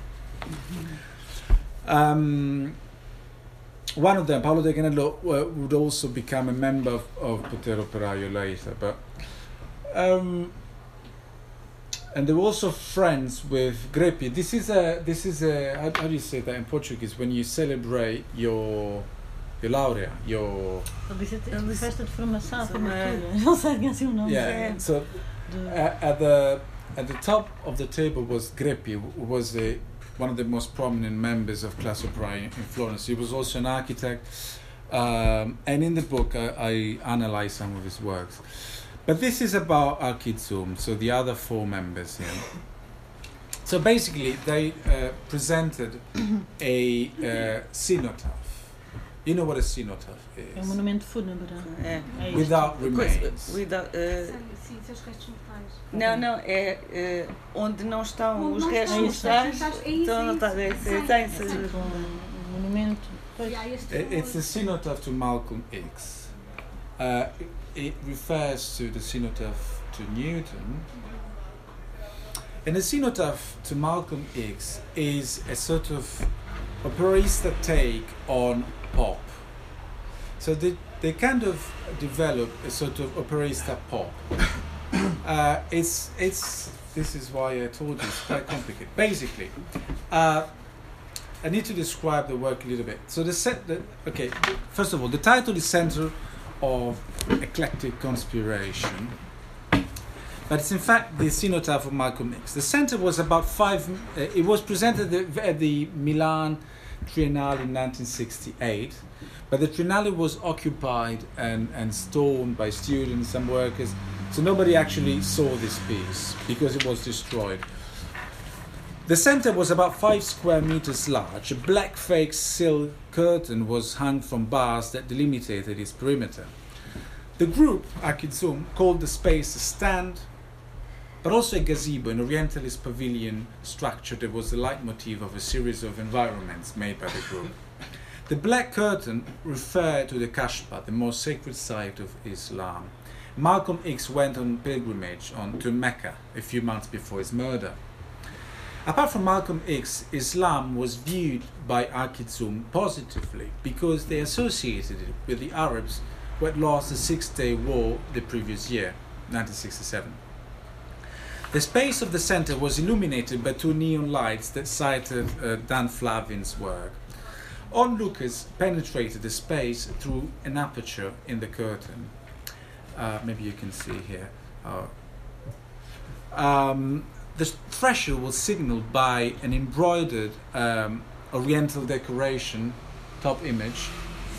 One of them, Paolo De Canello, would also become a member of Potere Operaio later, but and they were also friends with Greppi. This is a how do you say that in Portuguese when you celebrate your laurea, your Ele disse festa de formação, formatura. Não sei assim o nome. yeah. So at the top of the table was Greppi, who was one of the most prominent members of Classe Operaia in Florence. He was also an architect, and in the book I analyze some of his works. But this is about Archizum, so the other four members here. So basically they presented a cenotaph. You know what a cenotaph É is? monumento fúnebre. É. É isto. Without remains. Sim, seus restos mortais. Não, é onde não estão Não os estão restos os mortais. restos, é isso, Então não é está isso. tem Tipo um monumento. Pois. E há este It's a cenotaph to Malcolm X. It refers to the cenotaph to Newton. And the cenotaph to Malcolm X is a sort of operaista take on pop. So they kind of develop a sort of operaista pop. This is why I told you it's quite complicated. Basically, I need to describe the work a little bit. So okay, first of all, the title is Center of Eclectic Conspiration, but it's in fact the cenotaph of Malcolm X. The center was about it was presented at the Milan Triennale in 1968, but the Triennale was occupied and stormed by students and workers, so nobody actually saw this piece because it was destroyed. The center was about 5 square meters large. A black fake silk curtain was hung from bars that delimited its perimeter. The group, Archizum, called the space a stand, but also a gazebo, an Orientalist pavilion structure that was the leitmotif of a series of environments made by the group. The black curtain referred to the Kashfa, the most sacred site of Islam. Malcolm X went on pilgrimage to Mecca a few months before his murder. Apart from Malcolm X, Islam was viewed by Archizum positively because they associated it with the Arabs who had lost the Six-Day War the previous year, 1967. The space of the center was illuminated by 2 neon lights that cited Dan Flavin's work. Onlookers penetrated the space through an aperture in the curtain. Maybe you can see here. The threshold was signaled by an embroidered oriental decoration, top image,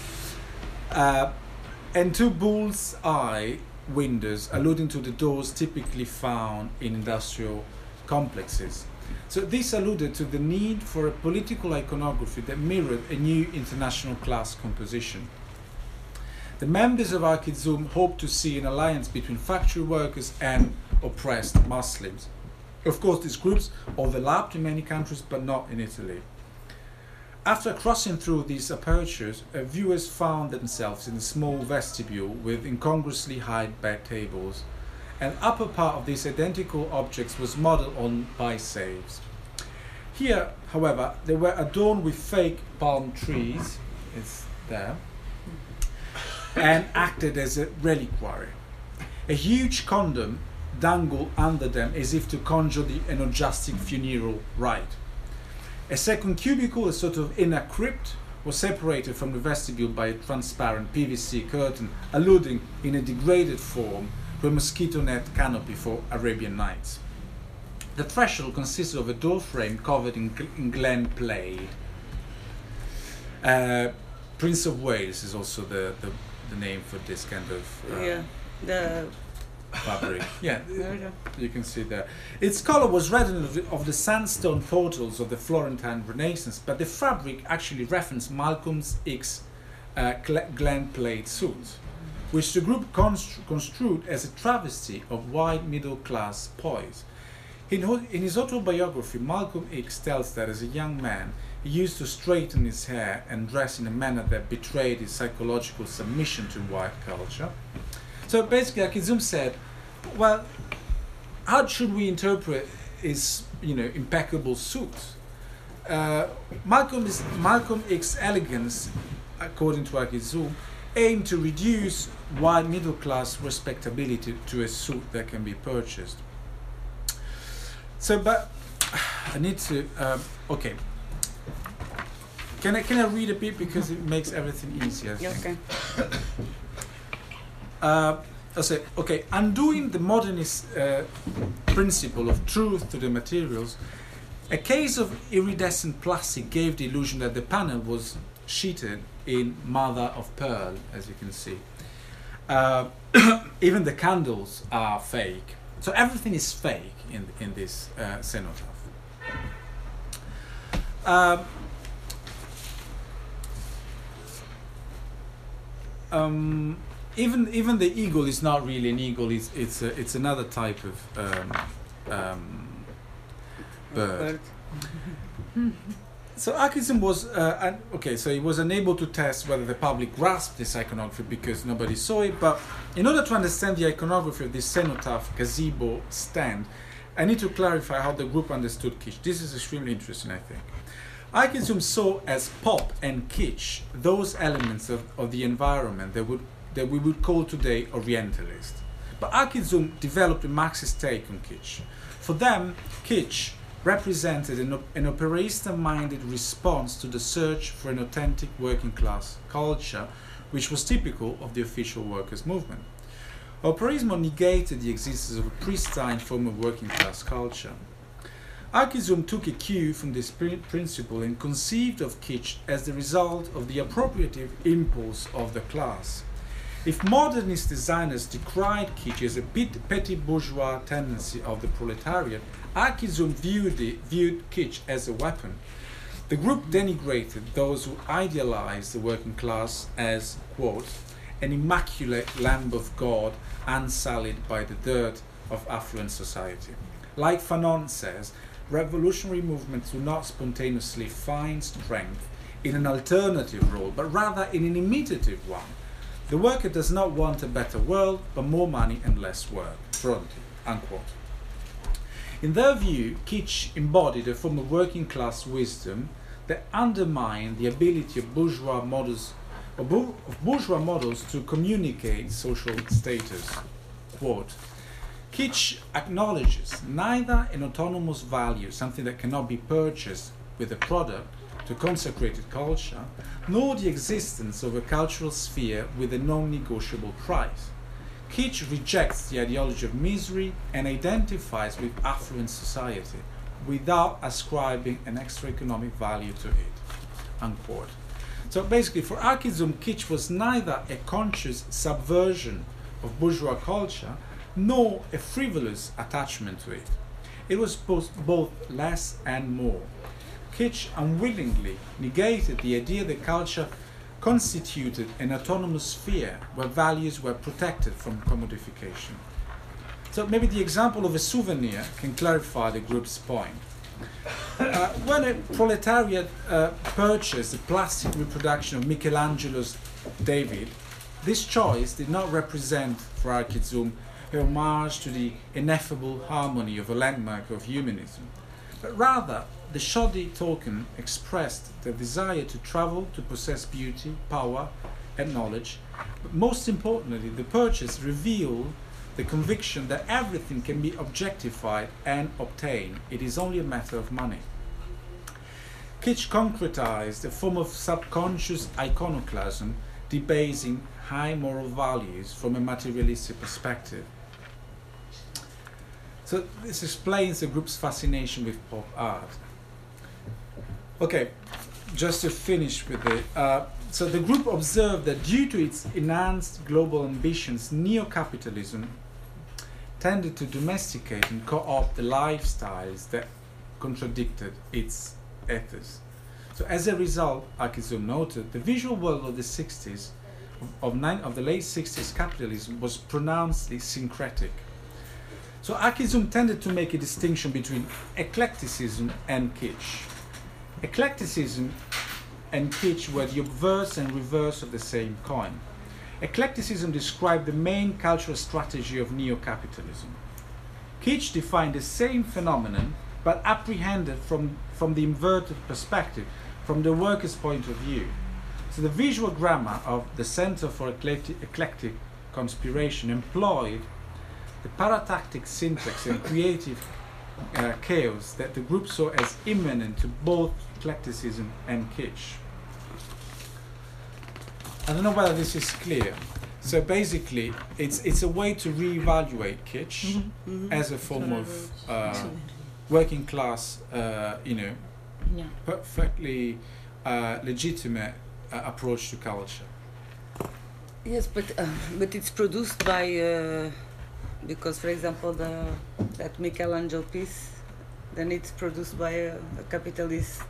and 2 bull's eye windows alluding to the doors typically found in industrial complexes. So this alluded to the need for a political iconography that mirrored a new international class composition. The members of Archizum hoped to see an alliance between factory workers and oppressed Muslims. Of course, these groups overlapped in many countries, but not in Italy. After crossing through these apertures, viewers found themselves in a small vestibule with incongruously high bed tables. An upper part of these identical objects was modelled on by-saves. Here, however, they were adorned with fake palm trees, it's there, and acted as a reliquary. A huge condom dangle under them as if to conjure the energetic funeral rite. A second cubicle, a sort of inner crypt, was separated from the vestibule by a transparent PVC curtain, alluding in a degraded form to a mosquito net canopy for Arabian Nights. The threshold consisted of a door frame covered in Glen Plate. Prince of Wales is also the name for this kind of the fabric. Yeah, there we go. you can see there. Its color was redolent of the sandstone portals of the Florentine Renaissance, but the fabric actually referenced Malcolm X Glen Plate suit, which the group construed as a travesty of white middle-class poise. In his autobiography, Malcolm X tells that as a young man, he used to straighten his hair and dress in a manner that betrayed his psychological submission to white culture. So basically, Akizum said, well, how should we interpret his, impeccable suit? Malcolm X's elegance, according to Akizum, aimed to reduce white middle-class respectability to a suit that can be purchased. So, but I need to. Okay. Can I read a bit because it makes everything easier? I think. Okay. I say, okay, undoing the modernist principle of truth to the materials, a case of iridescent plastic gave the illusion that the panel was sheeted in mother of pearl, as you can see. Even the candles are fake. So everything is fake in this cenotaph. Even the eagle is not really an eagle. It's another type of bird. So Akizum was so he was unable to test whether the public grasped this iconography because nobody saw it. But in order to understand the iconography of this cenotaph gazebo stand, I need to clarify how the group understood kitsch. This is extremely interesting, I think. Akizum saw as pop and kitsch those elements of the environment that we would call today Orientalist. But Akizum developed a Marxist take on kitsch. For them, kitsch represented an operaista-minded response to the search for an authentic working-class culture, which was typical of the official workers' movement. Operaismo negated the existence of a pristine form of working-class culture. Akizum took a cue from this principle and conceived of kitsch as the result of the appropriative impulse of the class. If modernist designers decried kitsch as a petty bourgeois tendency of the proletariat, Akizum viewed kitsch as a weapon. The group denigrated those who idealized the working class as, quote, an immaculate lamb of God unsullied by the dirt of affluent society. Like Fanon says, revolutionary movements do not spontaneously find strength in an alternative role, but rather in an imitative one. The worker does not want a better world, but more money and less work. Fronti, unquote. In their view, kitsch embodied a form of working class wisdom that undermined the ability of bourgeois models to communicate social status. Quote, kitsch acknowledges neither an autonomous value, something that cannot be purchased with a product, to consecrated culture, nor the existence of a cultural sphere with a non-negotiable price. Kitsch rejects the ideology of misery and identifies with affluent society without ascribing an extra economic value to it. Unquote. So basically, for Akizum, kitsch was neither a conscious subversion of bourgeois culture nor a frivolous attachment to it. It was both less and more. Kitsch unwillingly negated the idea that culture constituted an autonomous sphere where values were protected from commodification. So maybe the example of a souvenir can clarify the group's point. When a proletariat purchased a plastic reproduction of Michelangelo's David, this choice did not represent for Akizum a homage to the ineffable harmony of a landmark of humanism, but rather the shoddy token expressed the desire to travel, to possess beauty, power, and knowledge. But most importantly, the purchase revealed the conviction that everything can be objectified and obtained. It is only a matter of money. Kitsch concretized a form of subconscious iconoclasm, debasing high moral values from a materialistic perspective. So this explains the group's fascination with pop art. Okay, just to finish with it. So the group observed that due to its enhanced global ambitions, neo-capitalism tended to domesticate and co-opt the lifestyles that contradicted its ethos. So as a result, Akizum noted, the visual world of the 60s, of the late 60s capitalism was pronouncedly syncretic. So Akizum tended to make a distinction between eclecticism and kitsch. Eclecticism and kitsch were the obverse and reverse of the same coin. Eclecticism described the main cultural strategy of neo-capitalism. Kitsch defined the same phenomenon, but apprehended from the inverted perspective, from the worker's point of view. So the visual grammar of the Center for Eclectic Conspiration employed the paratactic syntax and creative chaos that the group saw as immanent to both eclecticism and kitsch. I don't know whether this is clear. So basically, it's a way to reevaluate kitsch as a form of working class, perfectly legitimate approach to culture. Yes, but it's produced by because, for example, that Michelangelo piece, then it's produced by a capitalist.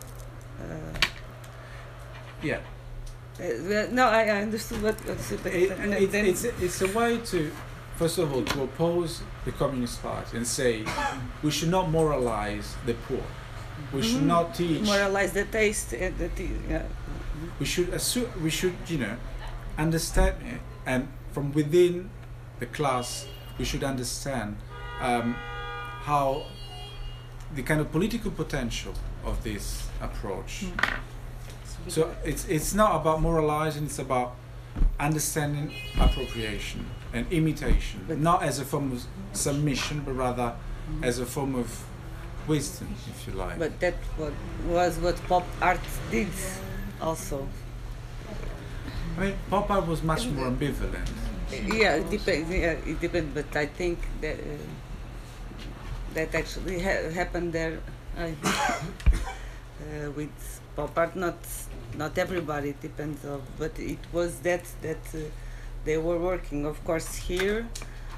Yeah. No, I understood what it's a way to, first of all, to oppose the Communist Party and say we should not moralize the poor. We should not teach. Moralize the taste and We should understand it, and from within the class, we should understand how the kind of political potential of this approach. So it's not about moralizing; it's about understanding appropriation and imitation, but not as a form of submission, but rather as a form of wisdom, if you like. But that was what pop art did, also. I mean, pop art was much more ambivalent. Yeah, it depends. Yeah, it depends. But I think that that actually happened there with pop art. Not everybody. It depends on. But it was that they were working. Of course, here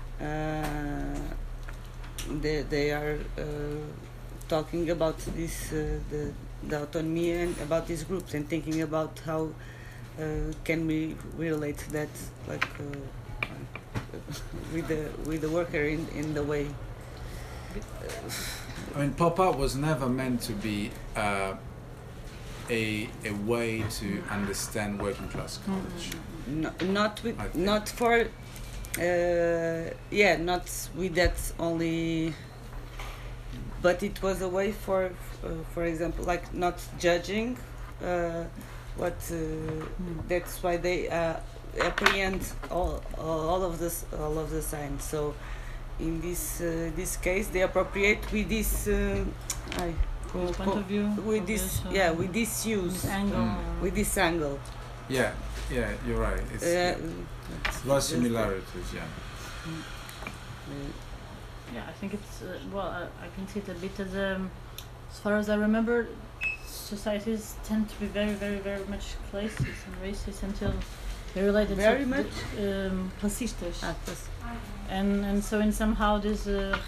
they are talking about this the autonomy and about these groups and thinking about how can we relate that with the worker in the way. I mean, pop art was never meant to be a way to understand working class culture. Not with that only. But it was a way for example, like not judging what. That's why they apprehend all of the signs. So in this case, they appropriate with this. Point of view. With this, with this use, with this angle. Yeah, you're right. It's there are similarities. Yeah, I think it's I can see it a bit as far as I remember, societies tend to be very, very, very much classist and racist until they're related very to much racistas. And so in somehow this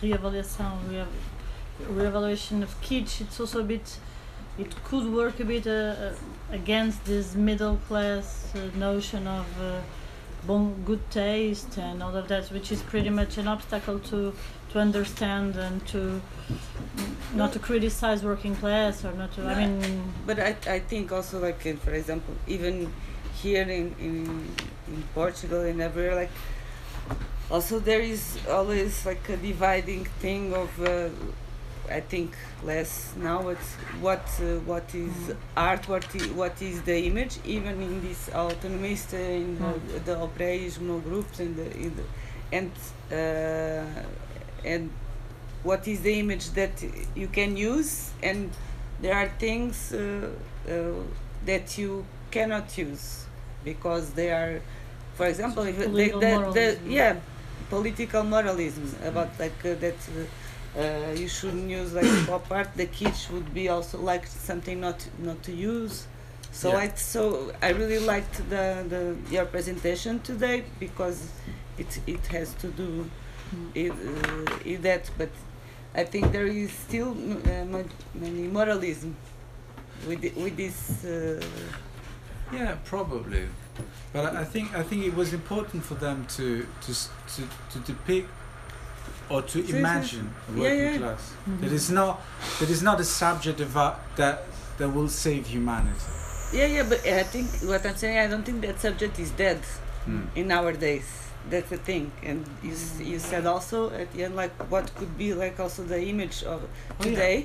reevaluation of kitsch, it's also a bit, it could work a bit against this middle class notion of good taste and all of that, which is pretty much an obstacle to understand and to not to criticize working class or not to. I mean, but I think also like for example, even here in Portugal and everywhere, like also there is always like a dividing thing of. I think less now. It's what is art, what is the image, even in this autonomist, in the operaismo groups, and what is the image that you can use, and there are things that you cannot use because they are, for example, if Political moralism. political moralism about that you shouldn't use like pop art. The kitsch would be also like something not to use. So Yeah. I really liked the your presentation today because it has to do with that, but I think there is still many moralism with this. Yeah, probably, but I think it was important for them to depict or to imagine a working class. That is not a subject that will save humanity. But I think what I'm saying, I don't think that subject is dead in our days. That's the thing, and you said also at the end like what could be like also the image of today.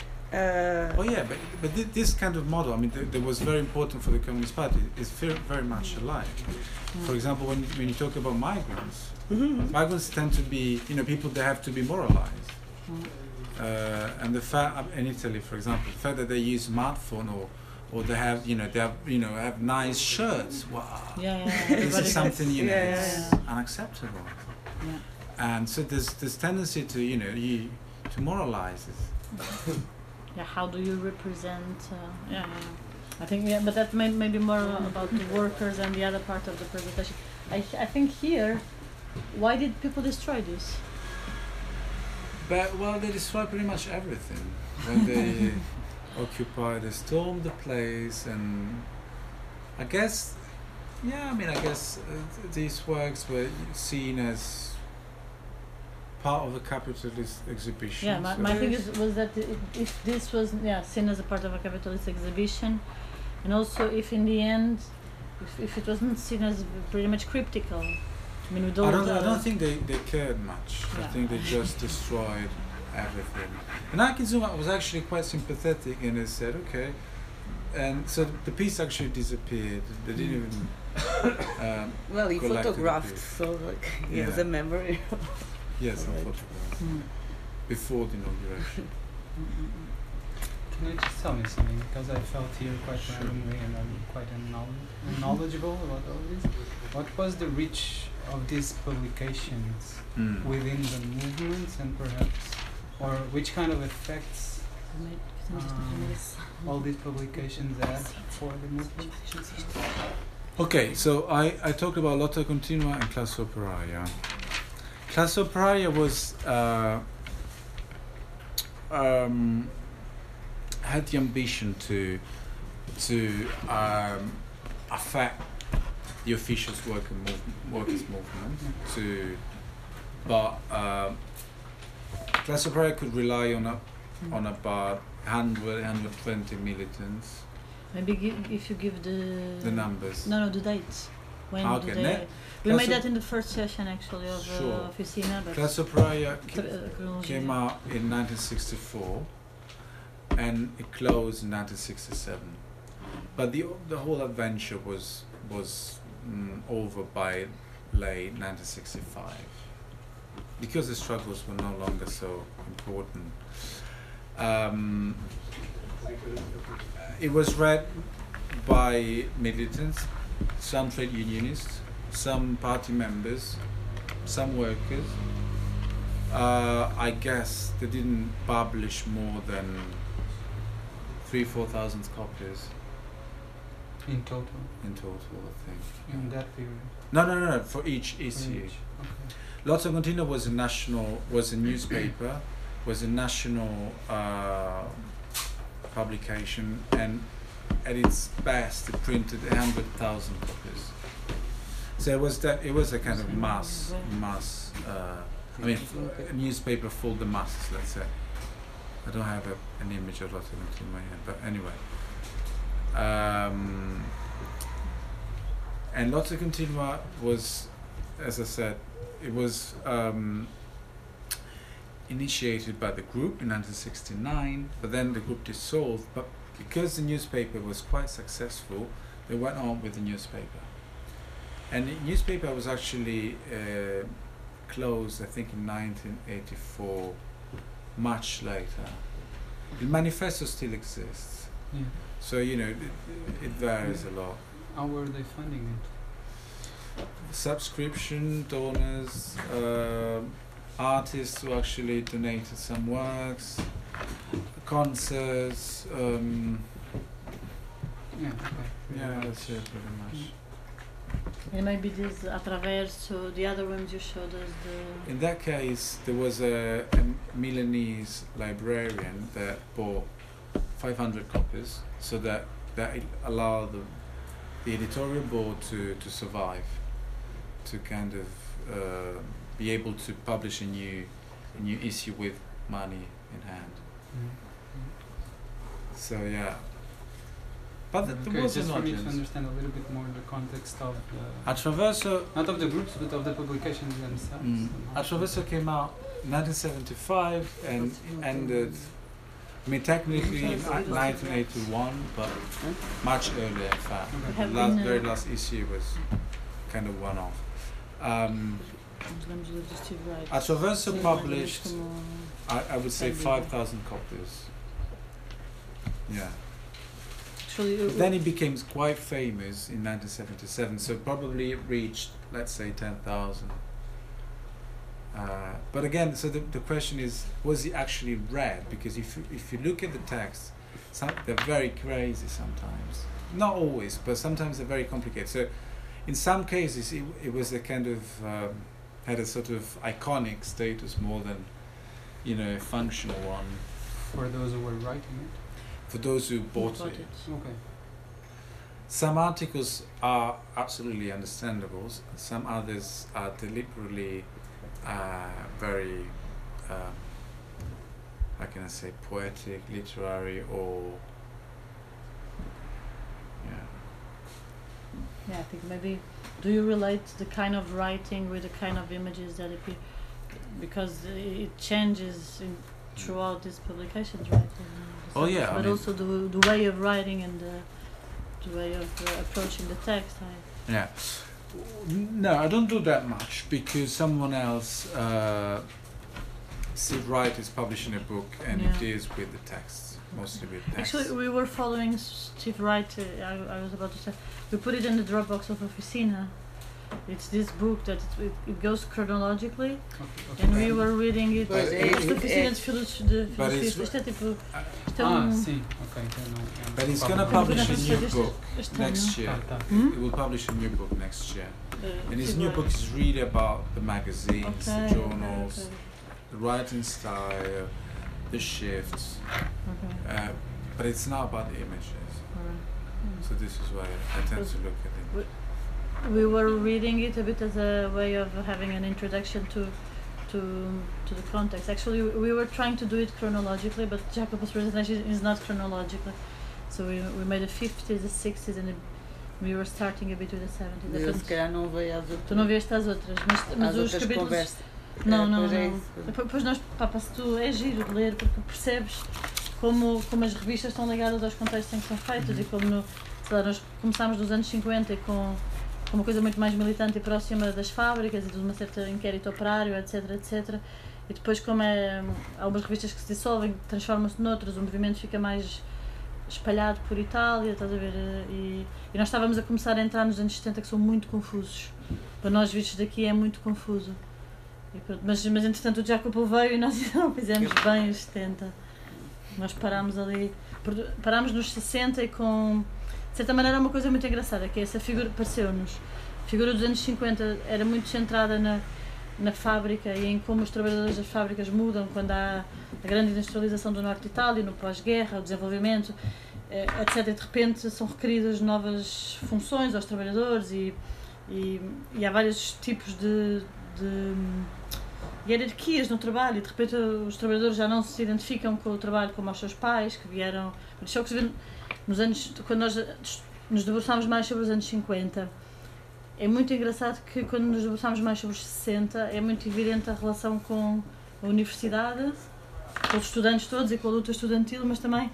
But this kind of model, I mean, that was very important for the Communist Party, is very much alive. For example, when you talk about migrants, migrants tend to be, people that have to be moralized. And the fact in Italy, for example, the fact that they use smartphone or they have, have nice shirts. Wow. This is something, it's unacceptable. Yeah. And so there's tendency to to moralize it. Yeah, how do you represent? I think but that may be more about the workers and the other part of the presentation. I think here, why did people destroy this? But they destroy pretty much everything when they they stormed the place, and I guess these works were seen as part of the capitalist exhibition. Yeah, my thing was that if this was seen as a part of a capitalist exhibition, and also if in the end, if it wasn't seen as pretty much cryptical. I mean, with all I don't think they cared much. Yeah. I think they just destroyed everything. And Akizuma was actually quite sympathetic, and they said, okay. And so the piece actually disappeared. They didn't even. Well, he collected the photographed, piece. so like he has a memory. Yes, Right. photographs before the inauguration. Can you just tell me something? Because I felt here quite randomly and I'm quite knowledgeable about all this. What was the reach of these publications within the movements, and perhaps, or which kind of effects all these publications had for the movement? Okay, so I talked about Lotta Continua and Classe Operaia. Classe Operaia was had the ambition to affect the officials' workers' movement. But Classe Operaia could rely on about 120 militants. Maybe if you give the numbers. No, the dates. When Okay, did they? We made that in the first session actually of Officina. But Classe Operaia chronology. came out in 1964 and it closed in 1967. But the whole adventure was over by late 1965 because the struggles were no longer so important. It was read by militants, some trade unionists, some party members, some workers. I guess they didn't publish more than 3,000-4,000 copies In total, in total, I think. in that period. No, for each issue. Okay. Lotta Continua was a newspaper, was a national publication, and at its best it printed 100,000 copies. So it was a kind of mass. I mean, a newspaper for the masses, let's say. I don't have an image of Lotta Continua in my head, but anyway. And Lotta Continua was, as I said, it was initiated by the group in 1969, but then the group dissolved. But because the newspaper was quite successful, they went on with the newspaper. And the newspaper was actually closed, I think, in 1984, much later. The manifesto still exists, Yeah. so it varies a lot. How were they funding it? Subscription, donors, artists who actually donated some works, concerts. Yeah. Okay. Yeah, that's it pretty much. And maybe this atravers, so the other ones you showed us In that case, there was a Milanese librarian that bought 500 copies, so that allowed the editorial board to survive, to kind of be able to publish a new issue with money in hand. So yeah. But there was just an for me to audience. understand a little bit more the context of the, Attraverso, not of the groups, but of the publications themselves. Attraverso came out 1975 and ended, I mean, technically 1981, but much earlier, in fact. Okay. The very last issue was kind of one-off. Attraverso published, I would say, 5,000 copies. Yeah. But then it became quite famous in 1977, so probably it reached, let's say, 10,000. But again, so the question is, was it actually read? Because if you look at the text, they're very crazy sometimes. Not always, but sometimes they're very complicated. So in some cases, it was a kind of, had a sort of iconic status more than, a functional one. For those who were writing it. For those who bought it. Okay. Some articles are absolutely understandable. Some others are deliberately very, how can I say, poetic, literary, or Yeah, I think maybe. Do you relate the kind of writing with the kind of images that appear? Because it changes throughout these publications, right? Oh, yeah, But I mean, also the way of writing and the way of approaching the text. Yeah. No, I don't do that much because someone else, Steve Wright, is publishing a book and it deals with the texts, mostly with text. Actually, we were following Steve Wright. I was about to say, we put it in the Dropbox of Oficina. It's this book that it goes chronologically, Okay. and we were reading it. Pois é, Esta oficina de filosofia, isto é tipo. Isto é Sim, ok, então não. But he's going to publish a new book next year. Tá. He will publish a new book next year. And his new book is really about the magazines, the journals, the writing style, the shifts. But it's not about the images. So this is why I tend to look at it. We were reading it a bit as a way of having an introduction to the context. Actually, we were trying to do it chronologically, but Jacob's presentation is not chronological. So we made the 50s, the 60s, and we were starting a bit with the 70s. Eu se calhar não veio às Tu outras, não viste as outras, mas às os outras capítulos... conversas. Não. Pois é isso. Depois nós, se tu é giro de ler, porque percebes como as revistas estão ligadas aos contextos em que são feitas e como, sei lá, nós começámos nos anos 50 com uma coisa muito mais militante e próxima das fábricas e de uma certa inquérito operário, etc, etc. E depois, como há algumas revistas que se dissolvem, transformam-se noutras, o movimento fica mais espalhado por Itália, estás a ver? E nós estávamos a começar a entrar nos anos 70 que são muito confusos. Para nós vistos daqui é muito confuso. E pronto, mas entretanto o Jacopo veio e nós não fizemos bem os 70. Nós parámos ali, parámos nos 60 e com... De certa maneira é uma coisa muito engraçada, que essa figura pareceu-nos. A figura dos anos 50 era muito centrada na fábrica e em como os trabalhadores das fábricas mudam quando há a grande industrialização do norte de Itália, no pós-guerra, o desenvolvimento, etc. E de repente são requeridas novas funções aos trabalhadores e há vários tipos de hierarquias no trabalho e de repente os trabalhadores já não se identificam com o trabalho como os seus pais, que vieram... Isso é o que se vê nos anos, quando nós nos debruçámos mais sobre os anos 50, é muito engraçado que quando nos debruçámos mais sobre os 60, é muito evidente a relação com a universidade, com os estudantes todos e com a luta estudantil, mas também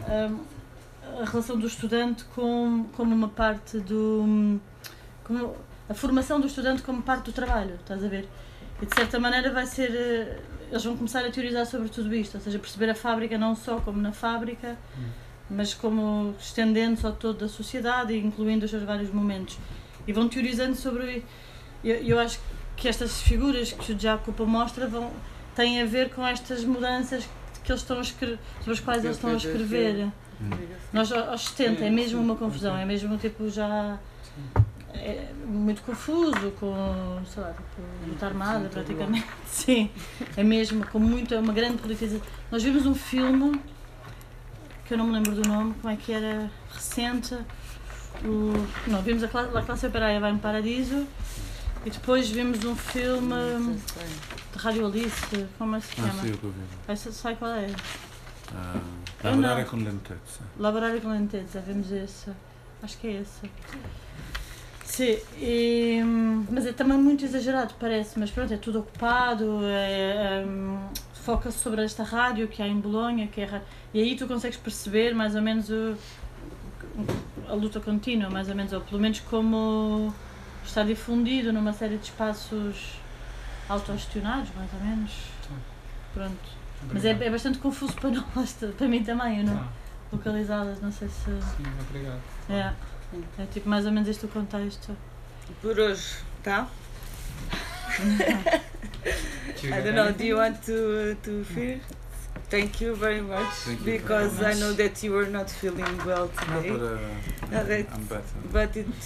a relação do estudante como uma parte como a formação do estudante como parte do trabalho, estás a ver? E E de certa maneira vai ser. Eles vão começar a teorizar sobre tudo isto, ou seja, perceber a fábrica não só como na fábrica, mas como estendendo-se ao todo da sociedade e incluindo os seus vários momentos. E vão teorizando sobre. Eu acho que estas figuras que o Jacopo mostra têm a ver com estas mudanças que eles estão a escrever, sobre as quais eles estão a escrever. Nós aos 70 é mesmo uma confusão, é mesmo tipo já. É muito confuso, com, sei lá, tipo, luta armada praticamente, sim, é mesmo, com uma grande politização. Nós vimos um filme, que eu não me lembro do nome, como é que era, recente, não, vimos a Classe Operaia vai no Paradiso, e depois vimos um filme de Radio Alice, como é que se chama? Sì, ho capito. Essa sai qual é? Lavorare con lentezza. Lavorare com lentezza, vimos esse, acho que é esse. Sim, mas é também muito exagerado, parece, mas pronto, é tudo ocupado, foca-se sobre esta rádio que há em Bolonha, e aí tu consegues perceber mais ou menos a luta contínua, mais ou menos, ou pelo menos como está difundido numa série de espaços autogestionados, mais ou menos, pronto. Mas é bastante confuso para nós, para mim também, eu não localizadas, não sei se... Sim, obrigado. É tipo mais ou menos este o contexto. Por hoje, tá? Do you I got don't know, do anything? you want to finish? Thank you very much, Thank you because very I much. know that you were not feeling well No, today. but that's- I'm better. But it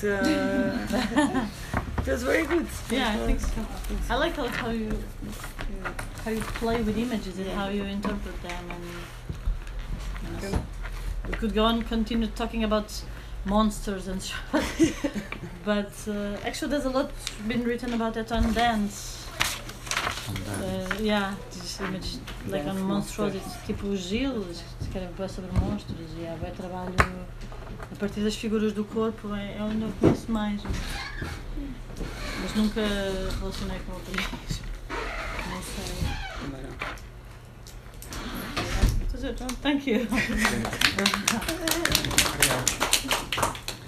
was very good. Yeah, I think so. I like how you play with images and how you interpret them, and we could go on continue talking about monsters and stuff. But actually there's a lot been written about that on dance. These images like on monstrosity, tipo o Gil, que querem falar sobre monstros, e há bem trabalho a partir das figuras do corpo, é onde eu conheço mais, mas nunca relacionei com o país, não sei. Thank you. Obrigado.